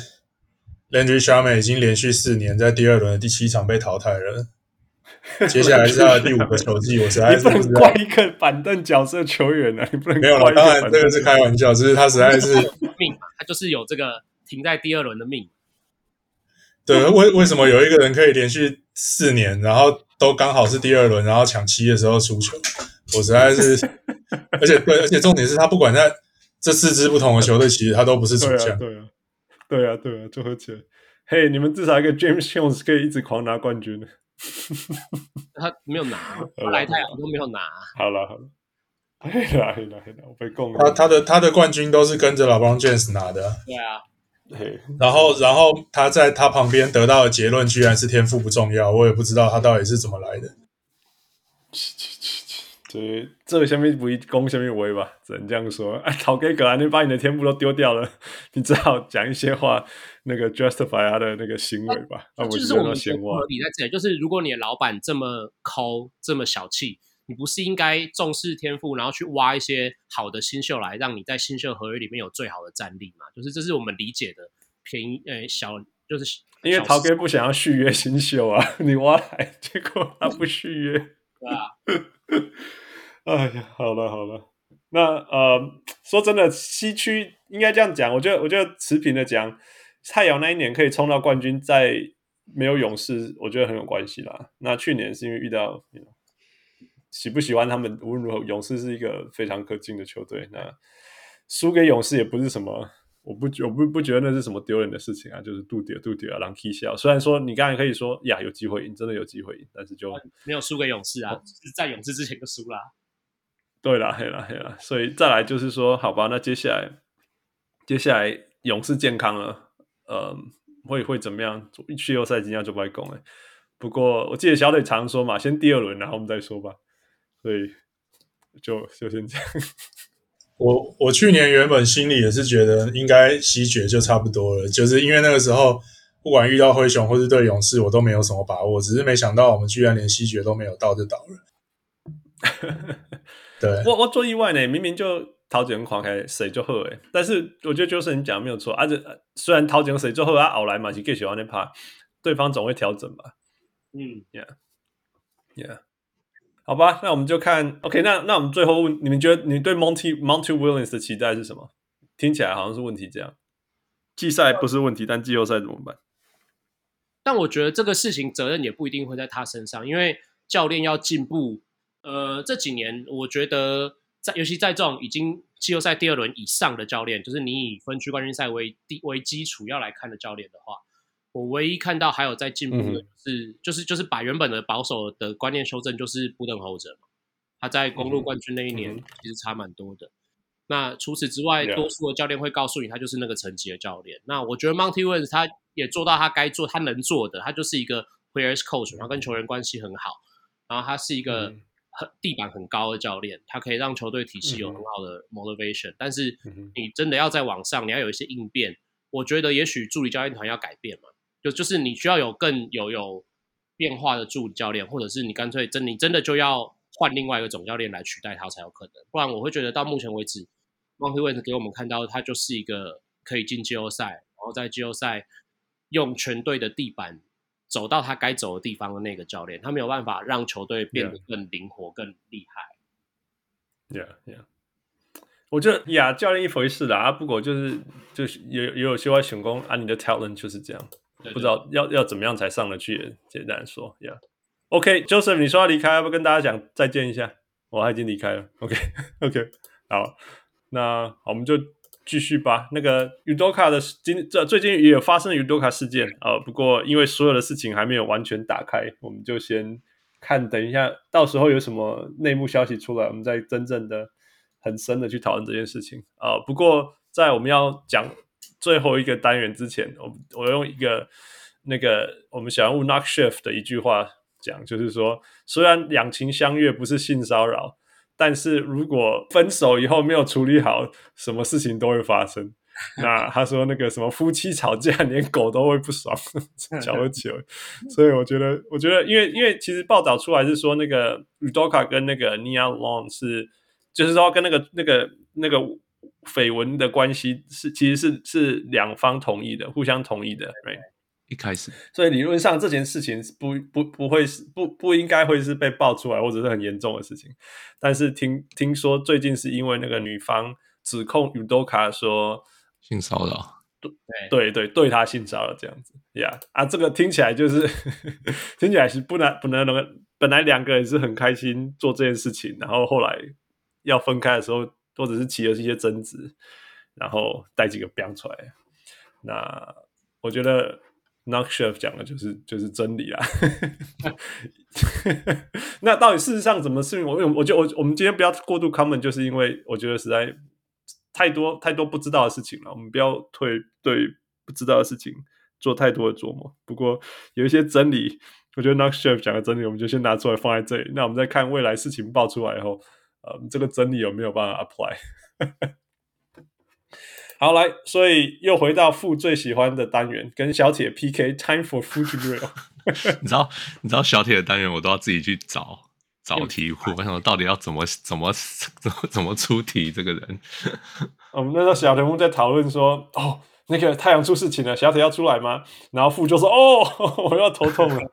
Landry Shamet 已經連續四年在第二輪的第七場被淘汰了。接下來是他的第五個球季，我實在是不知道。 你不能怪一個板凳角色球員啊，你不能怪一個板凳。 沒有了，當然這個是開玩笑，只是他實在是命嘛，他就是有這個停在第二輪的命。 對，為為什麼有一個人可以連續四年，然後都剛好是第二輪，然後搶七的時候輸球？我實在是，而且對，而且重點是他不管在這四支不同的球隊，其實他都不是主將。 對啊，對啊，對啊，就和解。嘿，你們至少一個 James Jones 可以一直狂拿冠軍的。 他沒有拿，他來太陽都沒有拿。 好了好了，黑了黑了黑了，我被供了。 他他的他的冠軍都是跟着 LeBron James 拿的。 對啊， 嘿， 然後然後他在他旁邊得到的結論居然是天賦不重要，我也不知道他到底是怎麼來的。 這這下面不一攻下面威吧，只能這樣說。哎，陶給格蘭，你把你的天賦都丟掉了，你只好講一些話，那個 justify 他的那個行為吧。啊， 就是我們覺得合理在這裡，就是如果你的老闆這麼摳，這麼小氣，你不是應該重視天賦，然後去挖一些好的新秀來，讓你在新秀合約裡面有最好的戰力嘛？就是這是我們理解的便宜，呃，小就是因為陶給不想要續約新秀啊，你挖來，結果他不續約， 對啊。 哎呀，好了好了，那呃，說真的，西區應該這樣講，我覺得我覺得持平的講，太陽那一年可以衝到冠軍，在沒有勇士，我覺得很有關係啦。那去年是因為遇到，you know, 喜不喜歡他們，無論如何，勇士是一個非常可敬的球隊。那輸給勇士也不是什麼，我不我不不覺得那是什麼丟人的事情啊，就是杜迪杜迪啊，狼 K 笑。雖然說你剛才可以說呀，有機會贏，真的有機會贏，但是就沒有輸給勇士啊，哦、在勇士之前就輸啦。 對啦，對啦，對啦，所以再來就是說，好吧，那接下來，接下來勇士健康了，呃，會會怎麼樣？季後賽今天就不會攻了。不過我記得小隊常說嘛，先第二輪，然後我們再說吧。所以就就先這樣。 我我去年原本心裡也是覺得應該西決就差不多了，就是因為那個時候不管遇到灰熊或是對勇士，我都沒有什麼把握，只是沒想到我們居然連西決都沒有到就倒了。對， 我我做意外呢，明明就頭前看起來誰就好誒，但是我覺得就是你講的沒有錯，而、啊、且雖然頭前誰就好，啊後來嘛是繼續往那拍，對方總會調整吧。 嗯 ，Yeah，Yeah， yeah. 好吧，那我們就看 ，OK， 那那我們最後問，你們覺得你對 Monty Monty Williams 的期待是什麼？聽起來好像是問題這樣，季賽不是問題，但季後賽怎麼辦？ 但我覺得這個事情責任也不一定會在他身上，因為教練要進步。呃，這幾年我覺得在，尤其在這種已經季後賽第二輪以上的教練，就是你以分區冠軍賽為為基礎要來看的教練的話，我唯一看到還有在進步的就是、嗯、就是就是把原本的保守的觀念修正，就是布登侯者嘛，他在公鹿冠軍那一年其實差蠻多的。嗯、那除此之外，多數的教練會告訴你，他就是那個層級的教練。那我覺得 Monty Williams 他也做到他該做、他能做的，他就是一個 players coach，然後跟球員關係很好，然後他是一個。嗯很地板很高的教練，他可以讓球隊體系有很好的 motivation，、嗯、但是你真的要在網上，你要有一些應變。我覺得也許助理教練團要改變嘛，就就是你需要有更有有變化的助理教練，或者是你乾脆真你真的就要換另外一個總教練來取代他才有可能。不然我會覺得到目前為止 Monty Williams 給我們看到他就是一個可以進季後賽，然後在季後賽用全隊的地板走到他該走的地方的那個教練，他沒有辦法讓球隊變得更靈活、yeah. 更厲害。 Yeah, yeah. 我覺得呀，教練一回事啦，啊，不過就是就是也也有些話想說啊，你的 talent 就是這樣，對對，不知道要要怎麼樣才上得去。簡單說呀。OK，Joseph，、okay, 你說要離開，要不要跟大家講再見一下？我、哦、他已經離開了。OK，OK，、okay, okay, 好，那好我們就繼續吧。那個 Udoka 的今這最近也有發生 Udoka 事件啊、呃，不過因為所有的事情還沒有完全打開，我們就先看，等一下到時候有什麼內幕消息出來，我們再真正的。很深的去討論這件事情啊、呃，不過在我們要講最後一個單元之前，我我用一個那個我們小人物 Knock Shift 的一句話講，就是說，雖然兩情相悅不是性騷擾，但是如果分手以後沒有處理好，什麼事情都會發生。那他說那個什麼夫妻吵架連狗都會不爽，瞧得起。所以我覺得，我覺得因為因為其實報道出來是說那個 Udoka 跟那個 Nia Long 是。就是說，跟那個、那個、那個緋聞的關係是，其實是是兩方同意的，互相同意的。Right? 一開始， 所以理論上這件事情不不不會是不不應該會是被爆出來，或者是很嚴重的事情。但是聽聽說最近是因為那個女方指控 Udoka 說性騷擾， 對對對，對他性騷擾這樣子。Yeah 啊，這個聽起來就是聽起來是不能不能能，本來兩個人是很開心做這件事情，然後後來。要分開的時候，或者是起了一些爭執，然後帶幾個標出來。那我覺得 Knock Shift 講的就是就是真理啦。那到底事實上怎麼是？我我覺得我我們今天不要過度 comment，就是因為我覺得實在太多太多不知道的事情了。我們不要對對不知道的事情做太多的琢磨。不過有一些真理，我覺得 Knock Shift 講的真理，我們就先拿出來放在這裡。那我們再看未來事情爆出來以後。呃、嗯，這個真理有沒有辦法 apply？ 好，來，所以又回到父最喜歡的單元，跟小鐵 P K。Time for Food to Grill。 你知道，你知道小鐵的單元，我都要自己去找找題庫。我想說，到底要怎麼怎麼怎麼怎麼出題？這個人， 我們那時候小人物在討論說，哦，那個太陽出事情了，小鐵要出來嗎？然後父就說，哦，我要頭痛了。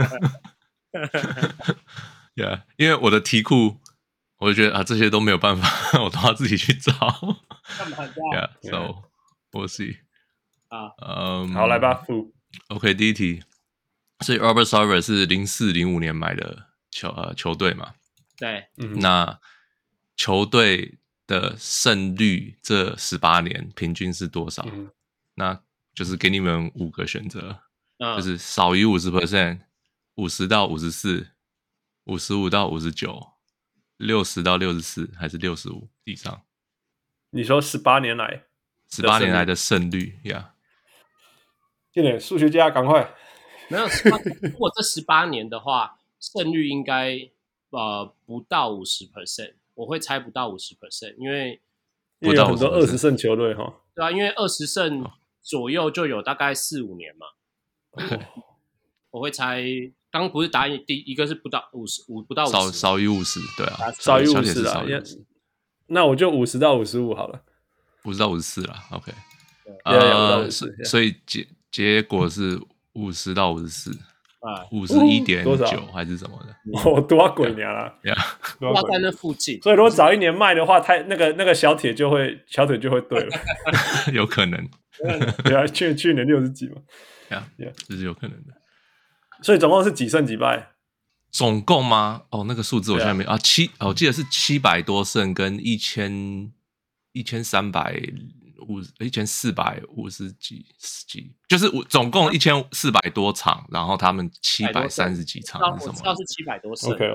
Yeah， 因為我的題庫。我就覺得啊，這些都沒有辦法，我都要自己去找。 幹嘛這樣 Yeah, so we'll see. 啊， 嗯， 好，來吧。 OK， 第一題，所以 Robert Sarver 是零四零五年買的球呃球隊嘛？ 對， 嗯，那球隊的勝率這十八年平均是多少？嗯，那就是給你們五個選擇，嗯，就是少於五十 percent， 五十到五十四，五十五到五十九。六十到六十四還是六十五以上？ 你說十八年來， 十八年來的勝率呀？ 這點數學家趕快。 沒有，如果這十八年的話，勝率應該呃不到五十 percent， 我會猜不到五十 percent， 因為因為有很多二十勝球隊哈。 對啊，因為二十勝左右就有大概四五年嘛。哦，我會猜。剛剛不是答案，第一個是不到五十五，不到五十， 少少於五十，對啊， 少於五十啊。那我就五十到五十五好了， 五十到五十四了。OK， 呃， 所以結結果是五十到五十四，五十一點九還是什麼的？ 哦，多少鬼年了？ 呀，要在那附近。 所以如果早一年賣的話，他那個那個小鐵就會小鐵就會對了， 有可能。 對啊，去去年六十幾嘛， 呀呀，這是有可能的。 所以總共是幾勝幾敗？ 總共嗎？哦，那個數字我現在沒有啊，七，哦，我記得是七百多勝跟一千一千三百五一千四百五十幾幾，就是總共一千四百多場，然後他們七百三十幾場是什麼？ 我知道是七百多勝。 OK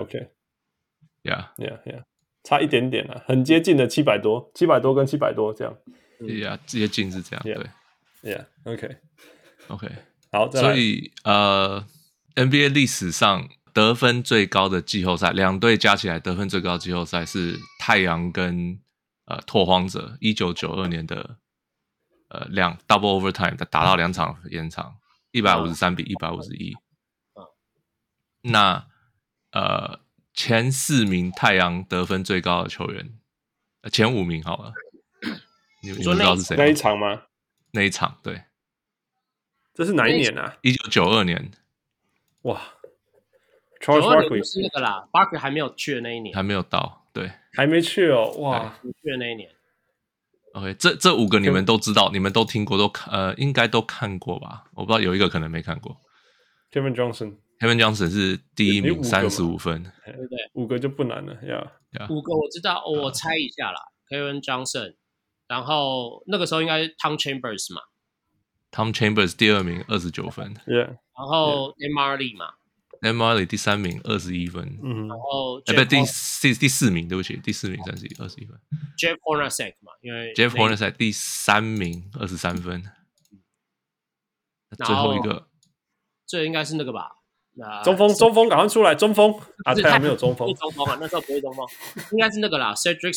OK，Yeah Yeah Yeah， 差一點點了，很接近的七百多，七百多跟七百多這樣。 Yeah， 接近是這樣， yeah, 對。 Yeah，OK OK， 好， 所以呃。N B A 歷史上得分最高的季後賽，兩隊加起來得分最高的季後賽是太陽跟呃拓荒者，一九九二年的呃兩 double overtime 打到兩場延長，一百五十三比一百五十一。那呃前四名太陽得分最高的球員，呃、前五名好了，你們知道是誰嗎？ 那一場嗎？ 那一場對， 這是哪一年啊？ 一九九二年。 哇 ，Charles Barkley 是那個啦 ，Barkley 還沒有去的那一年， 還沒有到，對， 還沒去哦，哇， 沒去的那一年。 OK， 這這五個你們都知道，你們都聽過，都呃應該都看過吧？我不知道有一個可能沒看過。 Kevin Johnson，Kevin Johnson 是第一名，三十五分， 對不对？ 五個就不難了呀。 Yeah. 五個我知道，哦、我猜一下啦、uh, ，Kevin Johnson， 然後那個時候應該是 Tom Chambers 嘛 ，Tom Chambers 第二名，二十九分 ，Yeah， 然後 Dan Marley 嘛 ，Dan Marley 第三名，二十一分， 嗯， 然後哎不，第四第四名，對不起，第四名三十一，二十一分 ，Jeff Hornacek 嘛，因為 Jeff Hornacek 第三名，二十三分，最後一個， 这應該是那個吧？ 中鋒，中鋒，趕快出來！中鋒啊，太陽沒有中鋒， 中鋒啊，那時候不會中鋒，應該是那個啦 ，Cedric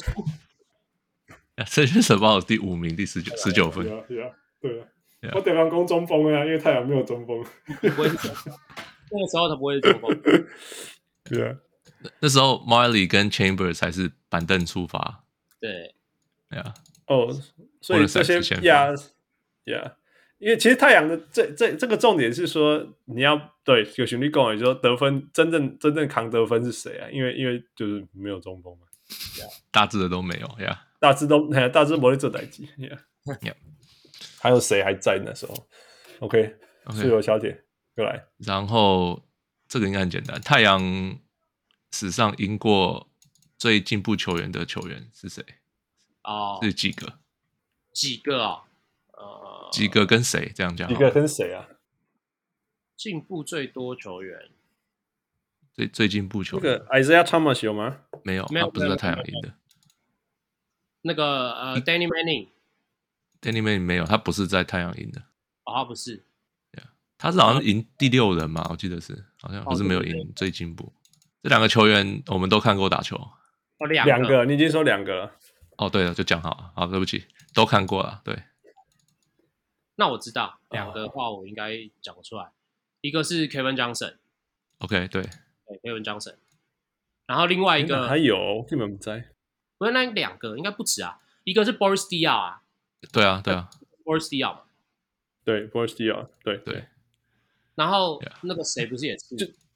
Ceballos。Cedric Ceballos 第五名，第十九，十九分。 對啊，對啊，對啊。我得方攻中鋒啊，因為太陽沒有中鋒。 不會，那個時候他不會是中鋒。 對啊， 那時候 Marley 跟 Chambers 才是板凳出發。 對， 對啊。 哦，所以這些呀呀。因為其實太陽的這這這個重點是說，你要對有旋律講，也就是說得分真正真正扛得分是誰啊？因為因為就是沒有中鋒嘛， 大致的都沒有呀， yeah. 大致都大致沒在做代誌呀。 Yeah. 還有誰還在那時候 ？OK， 自由小鐵過來。 然後這個應該很簡單，太陽史上贏過最進步球員的球員是誰？ 哦， 是幾個？ 幾個哦？呃， 幾個跟誰這樣講？ 幾個跟誰啊？ 進步最多球員， 最最進步球員。 那個 Isaiah Thomas 有嗎？ 沒有，他不是在太陽贏的。 那個呃 ，Danny Manning，Danny Manning 沒有，他不是在太陽贏的。 哦，他不是。 Yeah. 他是好像贏第六人嘛，我記得是，好像可是沒有贏最進步。這兩個球員我們都看過打球。 哦，兩個， 兩個，你已經說兩個了。 哦，對了，就講好了，好，對不起，都看過了，對。 那我知道兩個的話，我應該講得出來。Oh. 一個是 Kevin Johnson，OK，、 okay, 對， 對 Kevin Johnson。然後另外一個還有，根本不在。 不是那兩個，應該不止啊。一個是 Boris Diaw 啊， 對啊，對啊 ，Boris Diaw 嘛， 對 Boris Diaw，對對。 然後那個誰不是也是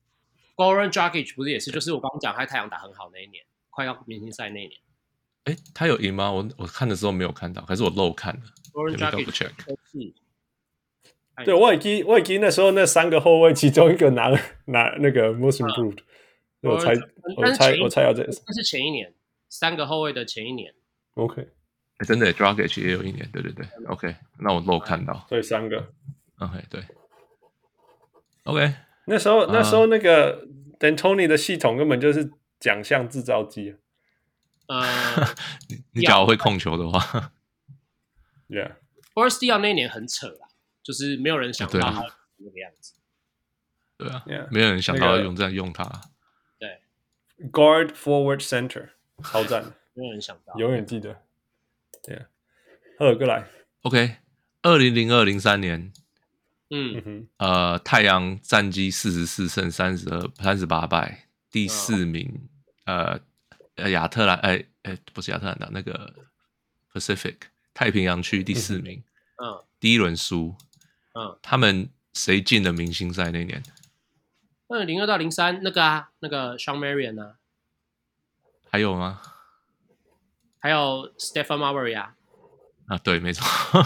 ，Goran Dragic 不是也是，就是我剛剛講他太陽打很好那一年，快要明星賽那一年。 哎，他有贏嗎？我我看的時候沒有看到，可是我漏看了。 Goran Dragic check。 對，我已經我已經那時候那三個後衛，其中一個拿拿那個 Most Improved，、嗯、我猜我猜我猜要這個， 那是前一年三個後衛的前一年。 OK， 真的 Dragic 也有一年，對對對。OK， 那我漏看到。 對，三個。 OK， 對。OK， 那時候那時候那個 D'Antoni 的系統根本就是獎項製造機。 呃， 你你假如會控球的話 ，Yeah。Boris Diaw 那一年很扯啦，就是沒有人想到他那個樣子。 對啊， yeah, 沒有人想到用這樣用他。 對 ，Guard Forward Center， 超讚的， 沒有人想到， 永遠記得。Yeah， 好，過來。 OK， 二零零二零三年， 嗯， 呃，太陽戰績四十四勝三十二三十八敗，第四名，嗯、呃。呃，亞特蘭，哎哎，不是亞特蘭大，那個 Pacific 太平洋區第四名， 嗯， 第一輪輸， 嗯， 他們誰進了明星賽那年？ 那零二到零三那個啊，那個 Shawn Marion 啊， 還有嗎？ 還有 Stephen Marbury 啊， 啊，對，沒錯，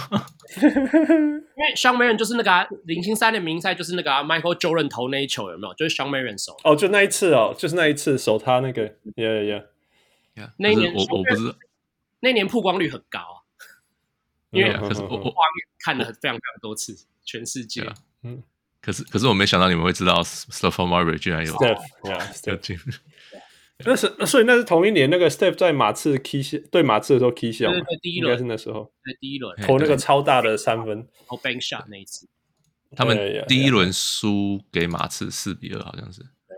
因為 Shawn Marion 就是那個啊，明星賽的明星賽就是那個、啊、Michael Jordan 投那一球有沒有？就是 Shawn Marion 守哦，就那一次哦，就是那一次守他那個 ，Yeah Yeah Yeah， 那一年我我不知道， 那年曝光率很高啊，因為可是我我看了非常非常多次，全世界， 嗯，可是可是我沒想到你們會知道 Stephen Marbury 居然有 Steph，Yeah， 進。那是，所以那是同一年，那個 Steph 在馬刺 key 對馬刺的時候 key 笑嘛， 第一輪應該是那時候， 在第一輪投那個超大的三分， 投 bank shot 那一次， 他們第一輪輸給馬刺四比二，好像是，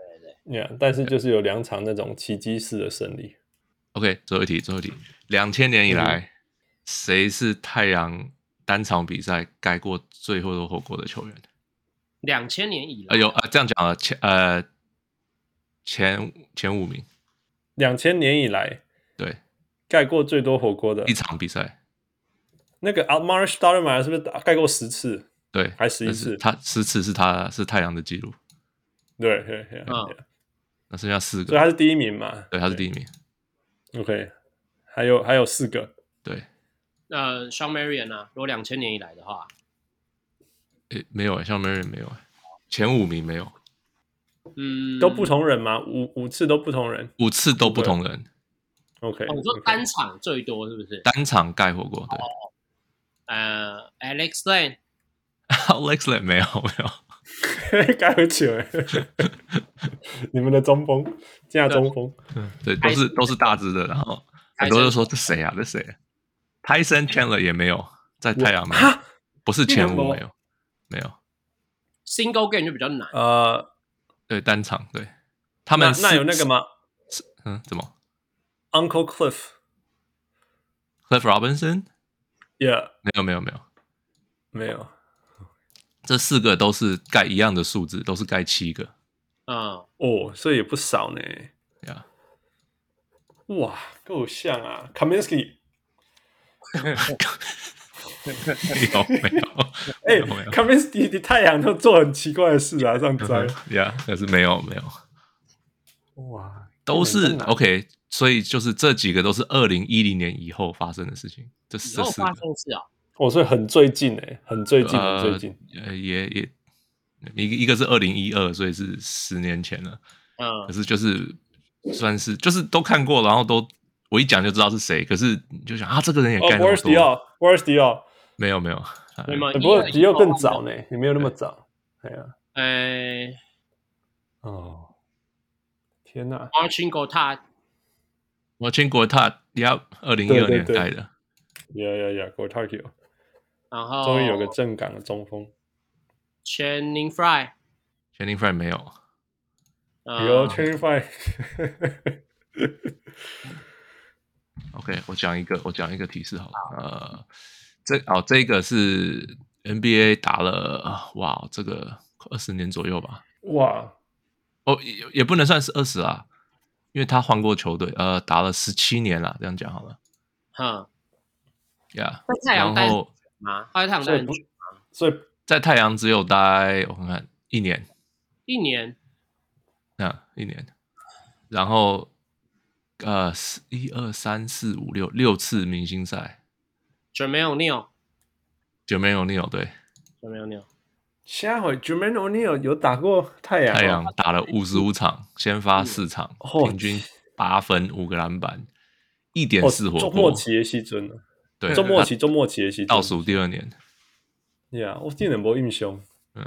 Yeah, 但是就是有兩場那種奇蹟式的勝利。 OK， 最後一題，最後一題，兩千年以來，誰、嗯、是太陽單場比賽蓋過最多火鍋的球員？ 兩千年以來， 呃，有呃這樣講了，前呃前前五名。 兩千年以來， 對， 蓋過最多火鍋的一場比賽。那個 Amar'e Stoudemire 是不是蓋過十次？ 對， 還十一次？ 他十次是他是太陽的記錄。 對對對， 嗯， 那剩下四個， 所以他是第一名嘛？ 對，他是第一名。 OK， 還有還有四個。 對， 呃 Shawn Marion 啊，如果兩千年以來的話， 誒，沒有誒 Shawn Marion 沒有誒，前五名沒有。 嗯， 都不同人嗎？五五次都不同人， 五次都不同人。 OK， 我、哦、說單場最多是不是？ 單場蓋火鍋，對。 哦、呃 ，Alex Lane，Alex Lane 沒有沒有， 蓋很久誒。你們的中鋒，加中鋒， 對，都是都是大只的，然後很多人說這誰啊？這誰 ？Tyson Chandler 也沒有，在太陽沒有，不是前五沒有，沒有。 Single game 就比較難， 呃。 對，單場對，他們那, 那有那個嗎？ 嗯，怎麼 ？Uncle Cliff，Cliff Robinson？Yeah， 沒有沒有沒有沒有， 這四個都是蓋一樣的數字，都是蓋七個。 嗯， 哦，所以也不少呢。 呀， 哇，夠像啊 ，Kaminsky。 沒有沒有， 哎、欸、，Kaminsky 的太陽都做很奇怪的事啊，上災。 呀，可是沒有沒有， 哇， 都是 OK， 所以就是這幾個都是二零一零年以後發生的事情。這是這四個， 哦，所以很最近哎，很最近， 呃、 很最近。 呃，也也一個一個是二零一二，所以是十年前了。 嗯， 可是就是算是就是都看過，然後都我一講就知道是誰。可是你就想啊，這個人也蓋那麼多。 哦 Boris Diaw， 沒有沒有， 沒有， 不過迪奧更早呢，你沒有那麼早。哎呀， 哎， 哦，天哪 ！Marcin Gortat，Marcin Gortat，呀，二零一二年蓋的。 呀呀呀 ，Gortat， 然後終於有個正港的中鋒。 Channing Frye，Channing Frye 沒有。 有 Channing Frye。 OK， 我講一個，我講一個提示好了。呃。這哦，這個是 N B A 打了哇，這個二十年左右吧。 哇， 哦，也也不能算是二十啦，因為他換過球隊，呃，打了十七年啦，這樣講好了。 哈， 呀， 然後啊，在太陽待很久嗎？ 所以在太陽只有待我看看一年， 一年， 啊，一年，然後呃，一二三四五六六次明星賽。 Jermaine O'Neal，Jermaine O'Neal 對 ，Jermaine O'Neal， 下回 Jermaine O'Neal 有打過太陽、哦， 太陽打了五十五場，先發四場，嗯、平均八分五個籃板，一點四火鍋。 中末期的時陣對， 中末期中末期的時陣， 倒數第二年。 呀、yeah, 我竟然沒印象。 嗯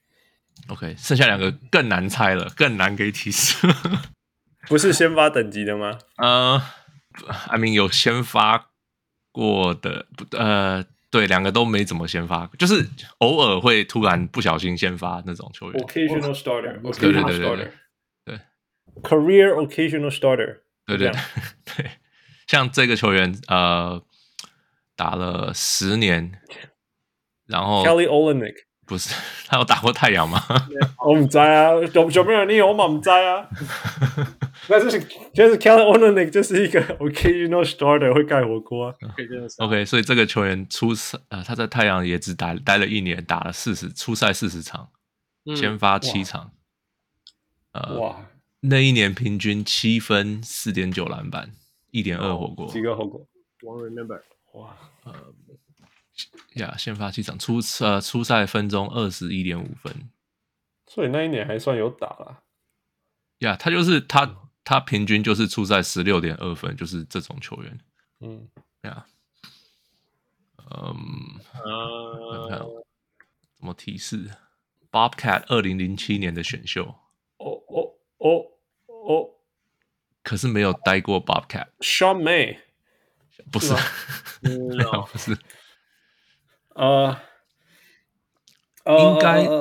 ，OK， 剩下兩個更難猜了，更難給提示。 不是先發等級的嗎？ 呃 ，I mean 有先發過的，呃，對，兩個都沒怎麼先發，就是偶爾會突然不小心先發那種球員。 Occasional starter， 對對對對對，對 ，Career occasional starter， 對對對對，像這個球員，呃，打了十年，然後 Kelly Olynyk 不是，他有打過太陽嗎？ 我不知道啊，有有沒有你我嘛不知道啊。那就是就是 Kelly Olynyk 就是一個 occasional starter 會蓋火鍋、啊。 OK， 所以這個球員出賽呃他在太陽也只待待了一年，打了四十出賽四十場，嗯、先發七場。哇，呃、哇那一年平均七分四點九籃板，一點二火鍋。 幾個火鍋 ？Won't remember。 哇，呃。呀，先發七場，出呃出賽分鐘二十一點五分， 所以那一年還算有打啦。 呀，他就是他、嗯、他平均就是出賽十六點二分，就是這種球員。嗯，呀，嗯，呃、看看怎麼提示 ？Bobcat 二零零七年的選秀。 哦哦哦哦， 可是沒有待過 Bobcat。Sean May 不是，沒有不是。 呃， 應該、 uh, uh, uh,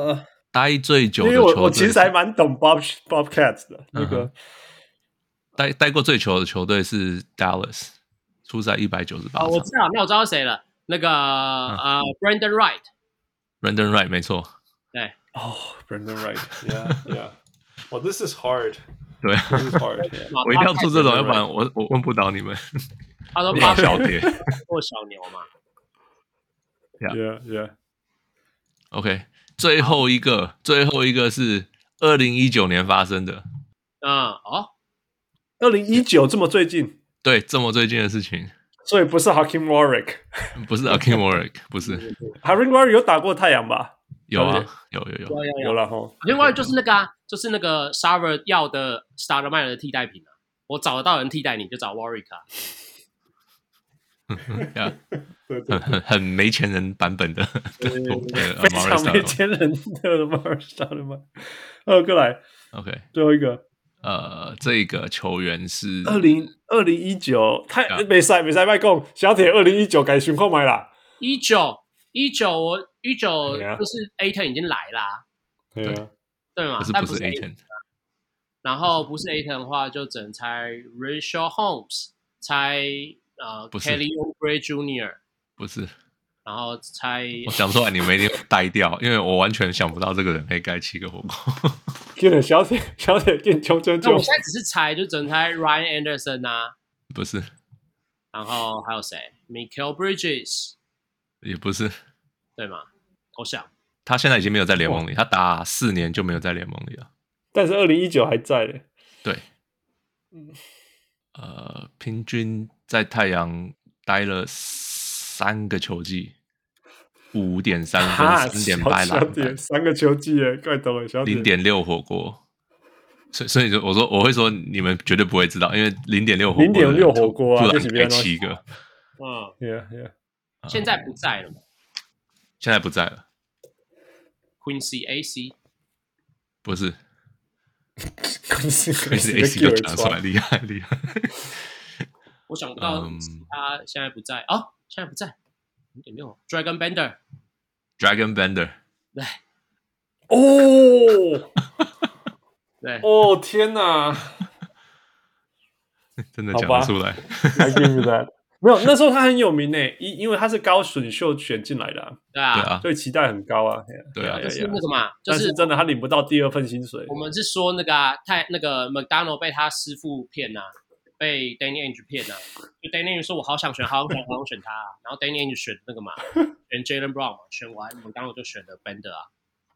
待最久的因球隊， 為我我其實還蠻懂 Bob Bobcats 的那個。 嗯待待過最久的球隊是 Dallas， 出賽一百九十八場。 我知道，那我知道誰了，那個、嗯、呃 Brandon Wright。Brandon Wright 沒錯。 對。 哦、oh, Brandon Wright，yeah yeah。哦、oh, ，this is hard。 對 ，this is hard。 我一定要出這種，要不然我我問不倒你們。 他說八小鐵或小牛嘛。 Yeah yeah。 OK， 最後一個，最後一個是二零一九年發生的。 嗯哦。 二零一九這麼最近， 對，這麼最近的事情， 所以不是 Hakeem Warrick， 不是 Hakeem Warrick， 不是 Hakeem Warrick 有打過太陽吧？ 有啊，有有有有有有了齁。 Hakeem Warrick 就是那個啊，就是那個 Sarver 要的 Stoudemire 的替代品啊，我找得到人替代你就找 Warrick 啊。 yeah, 很很很沒錢人版本的， 對對對對非常沒錢人的 Stoudemire。二個來 ，OK， 最後一個。 呃，這個球員是二零二零一九，太沒賽沒賽麥講，小鐵二零一九改選購買啦。 一九一九我一九就是 Ayton 已經來啦， 對啊， 對嘛？ 但不是 Ayton， 然後不是 Ayton 的話，就只能猜 Richaun Holmes， 猜呃 Kelly Oubre Junior 不是。 然後猜， 我想出來你們一定呆掉，因為我完全想不到這個人可以蓋七個火鍋。 給了小鐵，小鐵給衝衝衝！ 我現在只是猜，就只能猜 Ryan Anderson 啊， 不是。 然後還有誰 ？Mikal Bridges 也不是， 對嗎？我想他現在已經沒有在聯盟裡，他打四年就沒有在聯盟裡了。 但是二零一九還在嘞。 對，嗯，呃，平均在太陽待了三個球季。五點三分，三點八籃板， 三個球季耶，怪懂了，小零點六火鍋，所以所以我說我會說你們絕對不會知道，因為零點六火鍋， 零點六火鍋啊， 突然開七個， 嗯 ，yeah yeah， 現在不在了嗎？ 現在不在了 ，Quincy A C 不是 ，Quincy A C 就講出來，厲害厲害， 我想不到他現在不在哦，現在不在。零點六 Dragon Bender，Dragon Bender， 對， 哦， 對， 哦天哪， 真的講得出來 ，I give you that， 沒有，那時候他很有名誒，因因為他是高選秀選進來的、啊， 對啊， 所以期待很高啊， 對啊， 就是那個嘛，就是、 但是真的他領不到第二份薪水。 我們是說那個、啊、太那個 McDonald 被他師父騙啊。被 Danny Ainge 騙啊，就 Danny Ainge 說我好想選，好想選，好想選他、啊，然後 Danny Ainge 選那個嘛，選 Jaylen Brown 嘛，選完我們剛剛就選了 Bender 啊。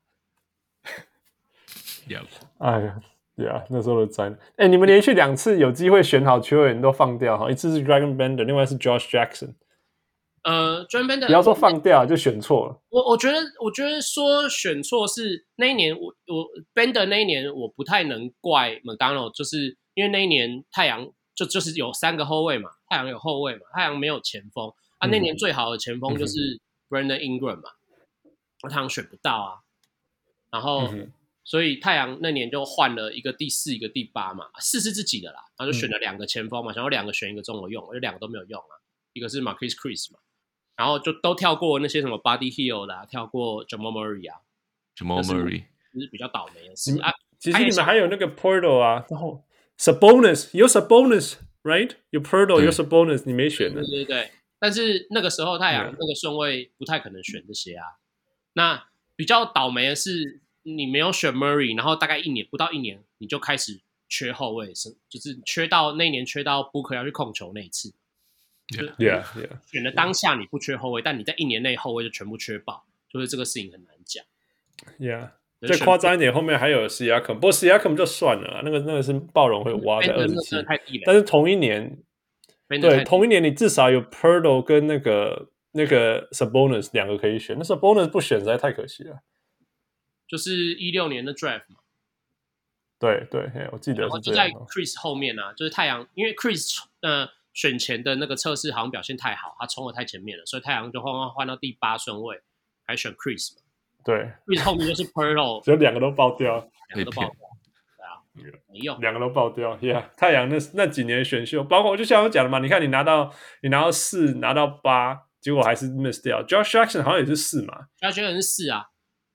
Yep. 哎呀，對啊，那時候的災。哎，你們連續兩次有機會選好球員都放掉哈，一次是 Dragon Bender， 另外是 Josh Jackson。 呃 ，Dragon Bender 不要說放掉，就選錯了。 我我覺得，我覺得說選錯是那一年，我我 Bender 那一年我不太能怪 McDonald， 就是因為那一年太陽。就就是有三個後衛嘛，太陽有後衛嘛，太陽沒有前鋒啊。那年最好的前鋒就是 Brandon Ingram 嘛，那、嗯、太陽選不到啊。然後，嗯、所以太陽那年就換了一個第四，一個第八嘛，四是自己的啦。然後就選了兩個前鋒嘛，嗯、想要兩個選一個中我用，就兩個都沒有用啊。一個是 Marquese Chriss 嘛，然後就都跳過那些什麼 Buddy Hield 啦，跳過 Jamal Murray 啊 ，Jamal Murray 就是比較倒霉的事啊。 其實你們還有那個 Portal 啊，然後。Sabonis 有 Sabonis right 有 Pirtle 有 Sabonis 你沒選的， 對對對，但是那個時候太陽那個順位不太可能選這些啊。那比較倒霉的是你沒有選 Murray， 然後大概一年不到一年你就開始缺後衛，是就是缺到那一年缺到 Booker 要去控球那一次。 Yeah yeah yeah。 選的當下你不缺後衛，但你在一年內後衛就全部缺爆，就是這個事情很難講。 Yeah。再誇張一點，後面還有 Siakam， 不過 Siakam 就算了啦，那個那個是暴龍會挖在二十七，但是同一年，對，同一年你至少有 Pirtle 跟那個那個 Sabonis 兩個可以選，那 Sabonis 不選實在太可惜了。 就是一六年的 Draft 嘛， 對對，我記得是這樣。 然後就在 Chris 後面啊，就是太陽，因為 Chris 呃選前的那個測試好像表現太好，他衝得太前面了，所以太陽就換換到第八順位，還選 Chris 嘛。對，因為後面就是 Pirtle， 就兩個都爆掉， 兩個都爆掉，對啊，沒用， 兩個都爆掉。Yeah， 太陽那那幾年選秀，包括就像我講的嘛，你看你拿到你拿到四，拿到八，結果還是 miss 掉。Josh Jackson 好像也是四嘛 ，Josh Jackson 是四啊，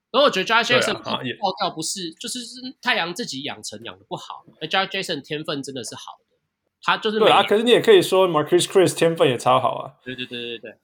然後我覺得 Josh Jackson 爆掉不是，就是太陽自己養成養的不好，而 Josh Jackson 天分真的是好的，他就是对啊，可是你也可以說 Marquese Chriss 天分也超好啊。 對對對對對。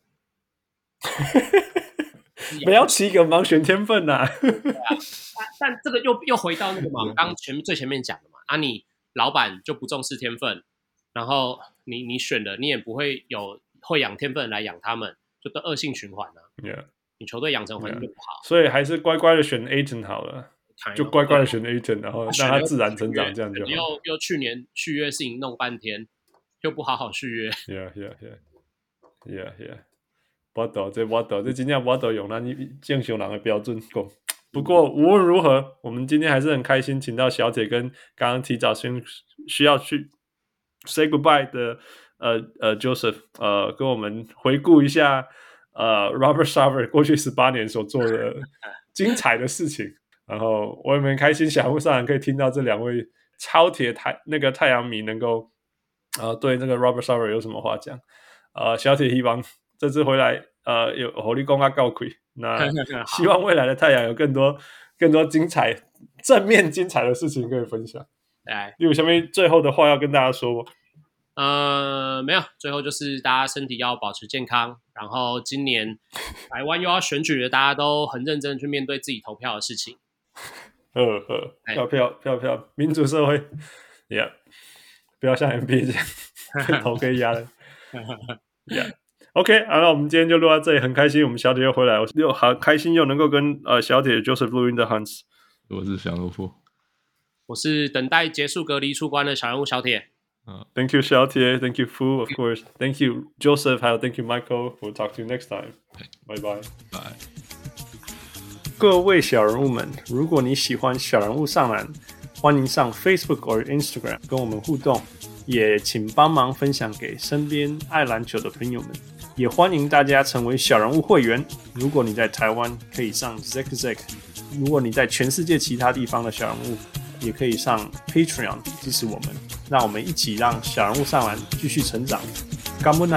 不要七個盲選天分吶、啊！ 對啊，但但這個又又回到那個嘛，剛剛前面最前面講的嘛，啊，你老闆就不重視天分，然後你你選了，你也不會有會養天分來養他們，就都惡性循環了、啊。 Yeah. 你球隊養成環境就不好， yeah. 所以還是乖乖的選 Ayton 好了，就乖乖的選 Ayton， 然後讓他自然成長，這樣就好。 又又去年續約事情弄半天，又不好好續約。 Yeah, yeah, yeah, yeah, yeah. 我懂，這我懂，這今天我懂用咱正常人的標準講。不過無論如何，我們今天還是很開心，請到小鐵跟剛剛提早先需要去 say goodbye 的呃呃 Joseph 呃跟我們回顧一下呃 Robert Sarver 過去十八年所做的精彩的事情。然後我也很開心，小人物上籃可以聽到這兩位超鐵太那個太陽迷能夠呃對這個 Robert Sarver 有什麼話講。呃，小鐵希望這次回來，呃，有火力公啊告虧。那希望未來的太陽有更多、更多精彩、正面精彩的事情可以分享。 哎， 你有下面最後的話要跟大家說嗎？ 呃，沒有，最後就是大家身體要保持健康。然後今年台灣又要選舉了，大家都很認真去面對自己投票的事情。 呵呵，票票票票，民主社會 ，Yeah， 不要像 N B A 這樣頭可以壓了。Yeah，OK， 好，那我們今天就錄到這裡，很開心，我們小鐵又回來，我又好開心又能夠跟呃小鐵 Joseph 錄音的 Hans， 我是小人物， 我是等待結束隔離出關的小人物小鐵。 Uh, Thank you 小鐵 ，Thank you Fu of course，Thank you Joseph， 還有 Thank you Michael，We'll talk to you next time，Bye bye， 拜。 各位小人物們，如果你喜歡小人物上籃，歡迎上 Facebook 或 Instagram 跟我們互動。也請幫忙分享給身邊愛籃球的朋友們，也歡迎大家成為小人物會員。如果你在台灣，可以上 Zack Zack； 如果你在全世界其他地方的小人物，也可以上 Patreon 支持我們，讓我們一起讓小人物上籃繼續成長。感恩啊！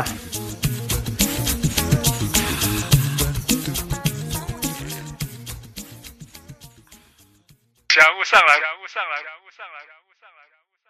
小人物上籃，小人物上籃，小人物上籃，小人物上籃。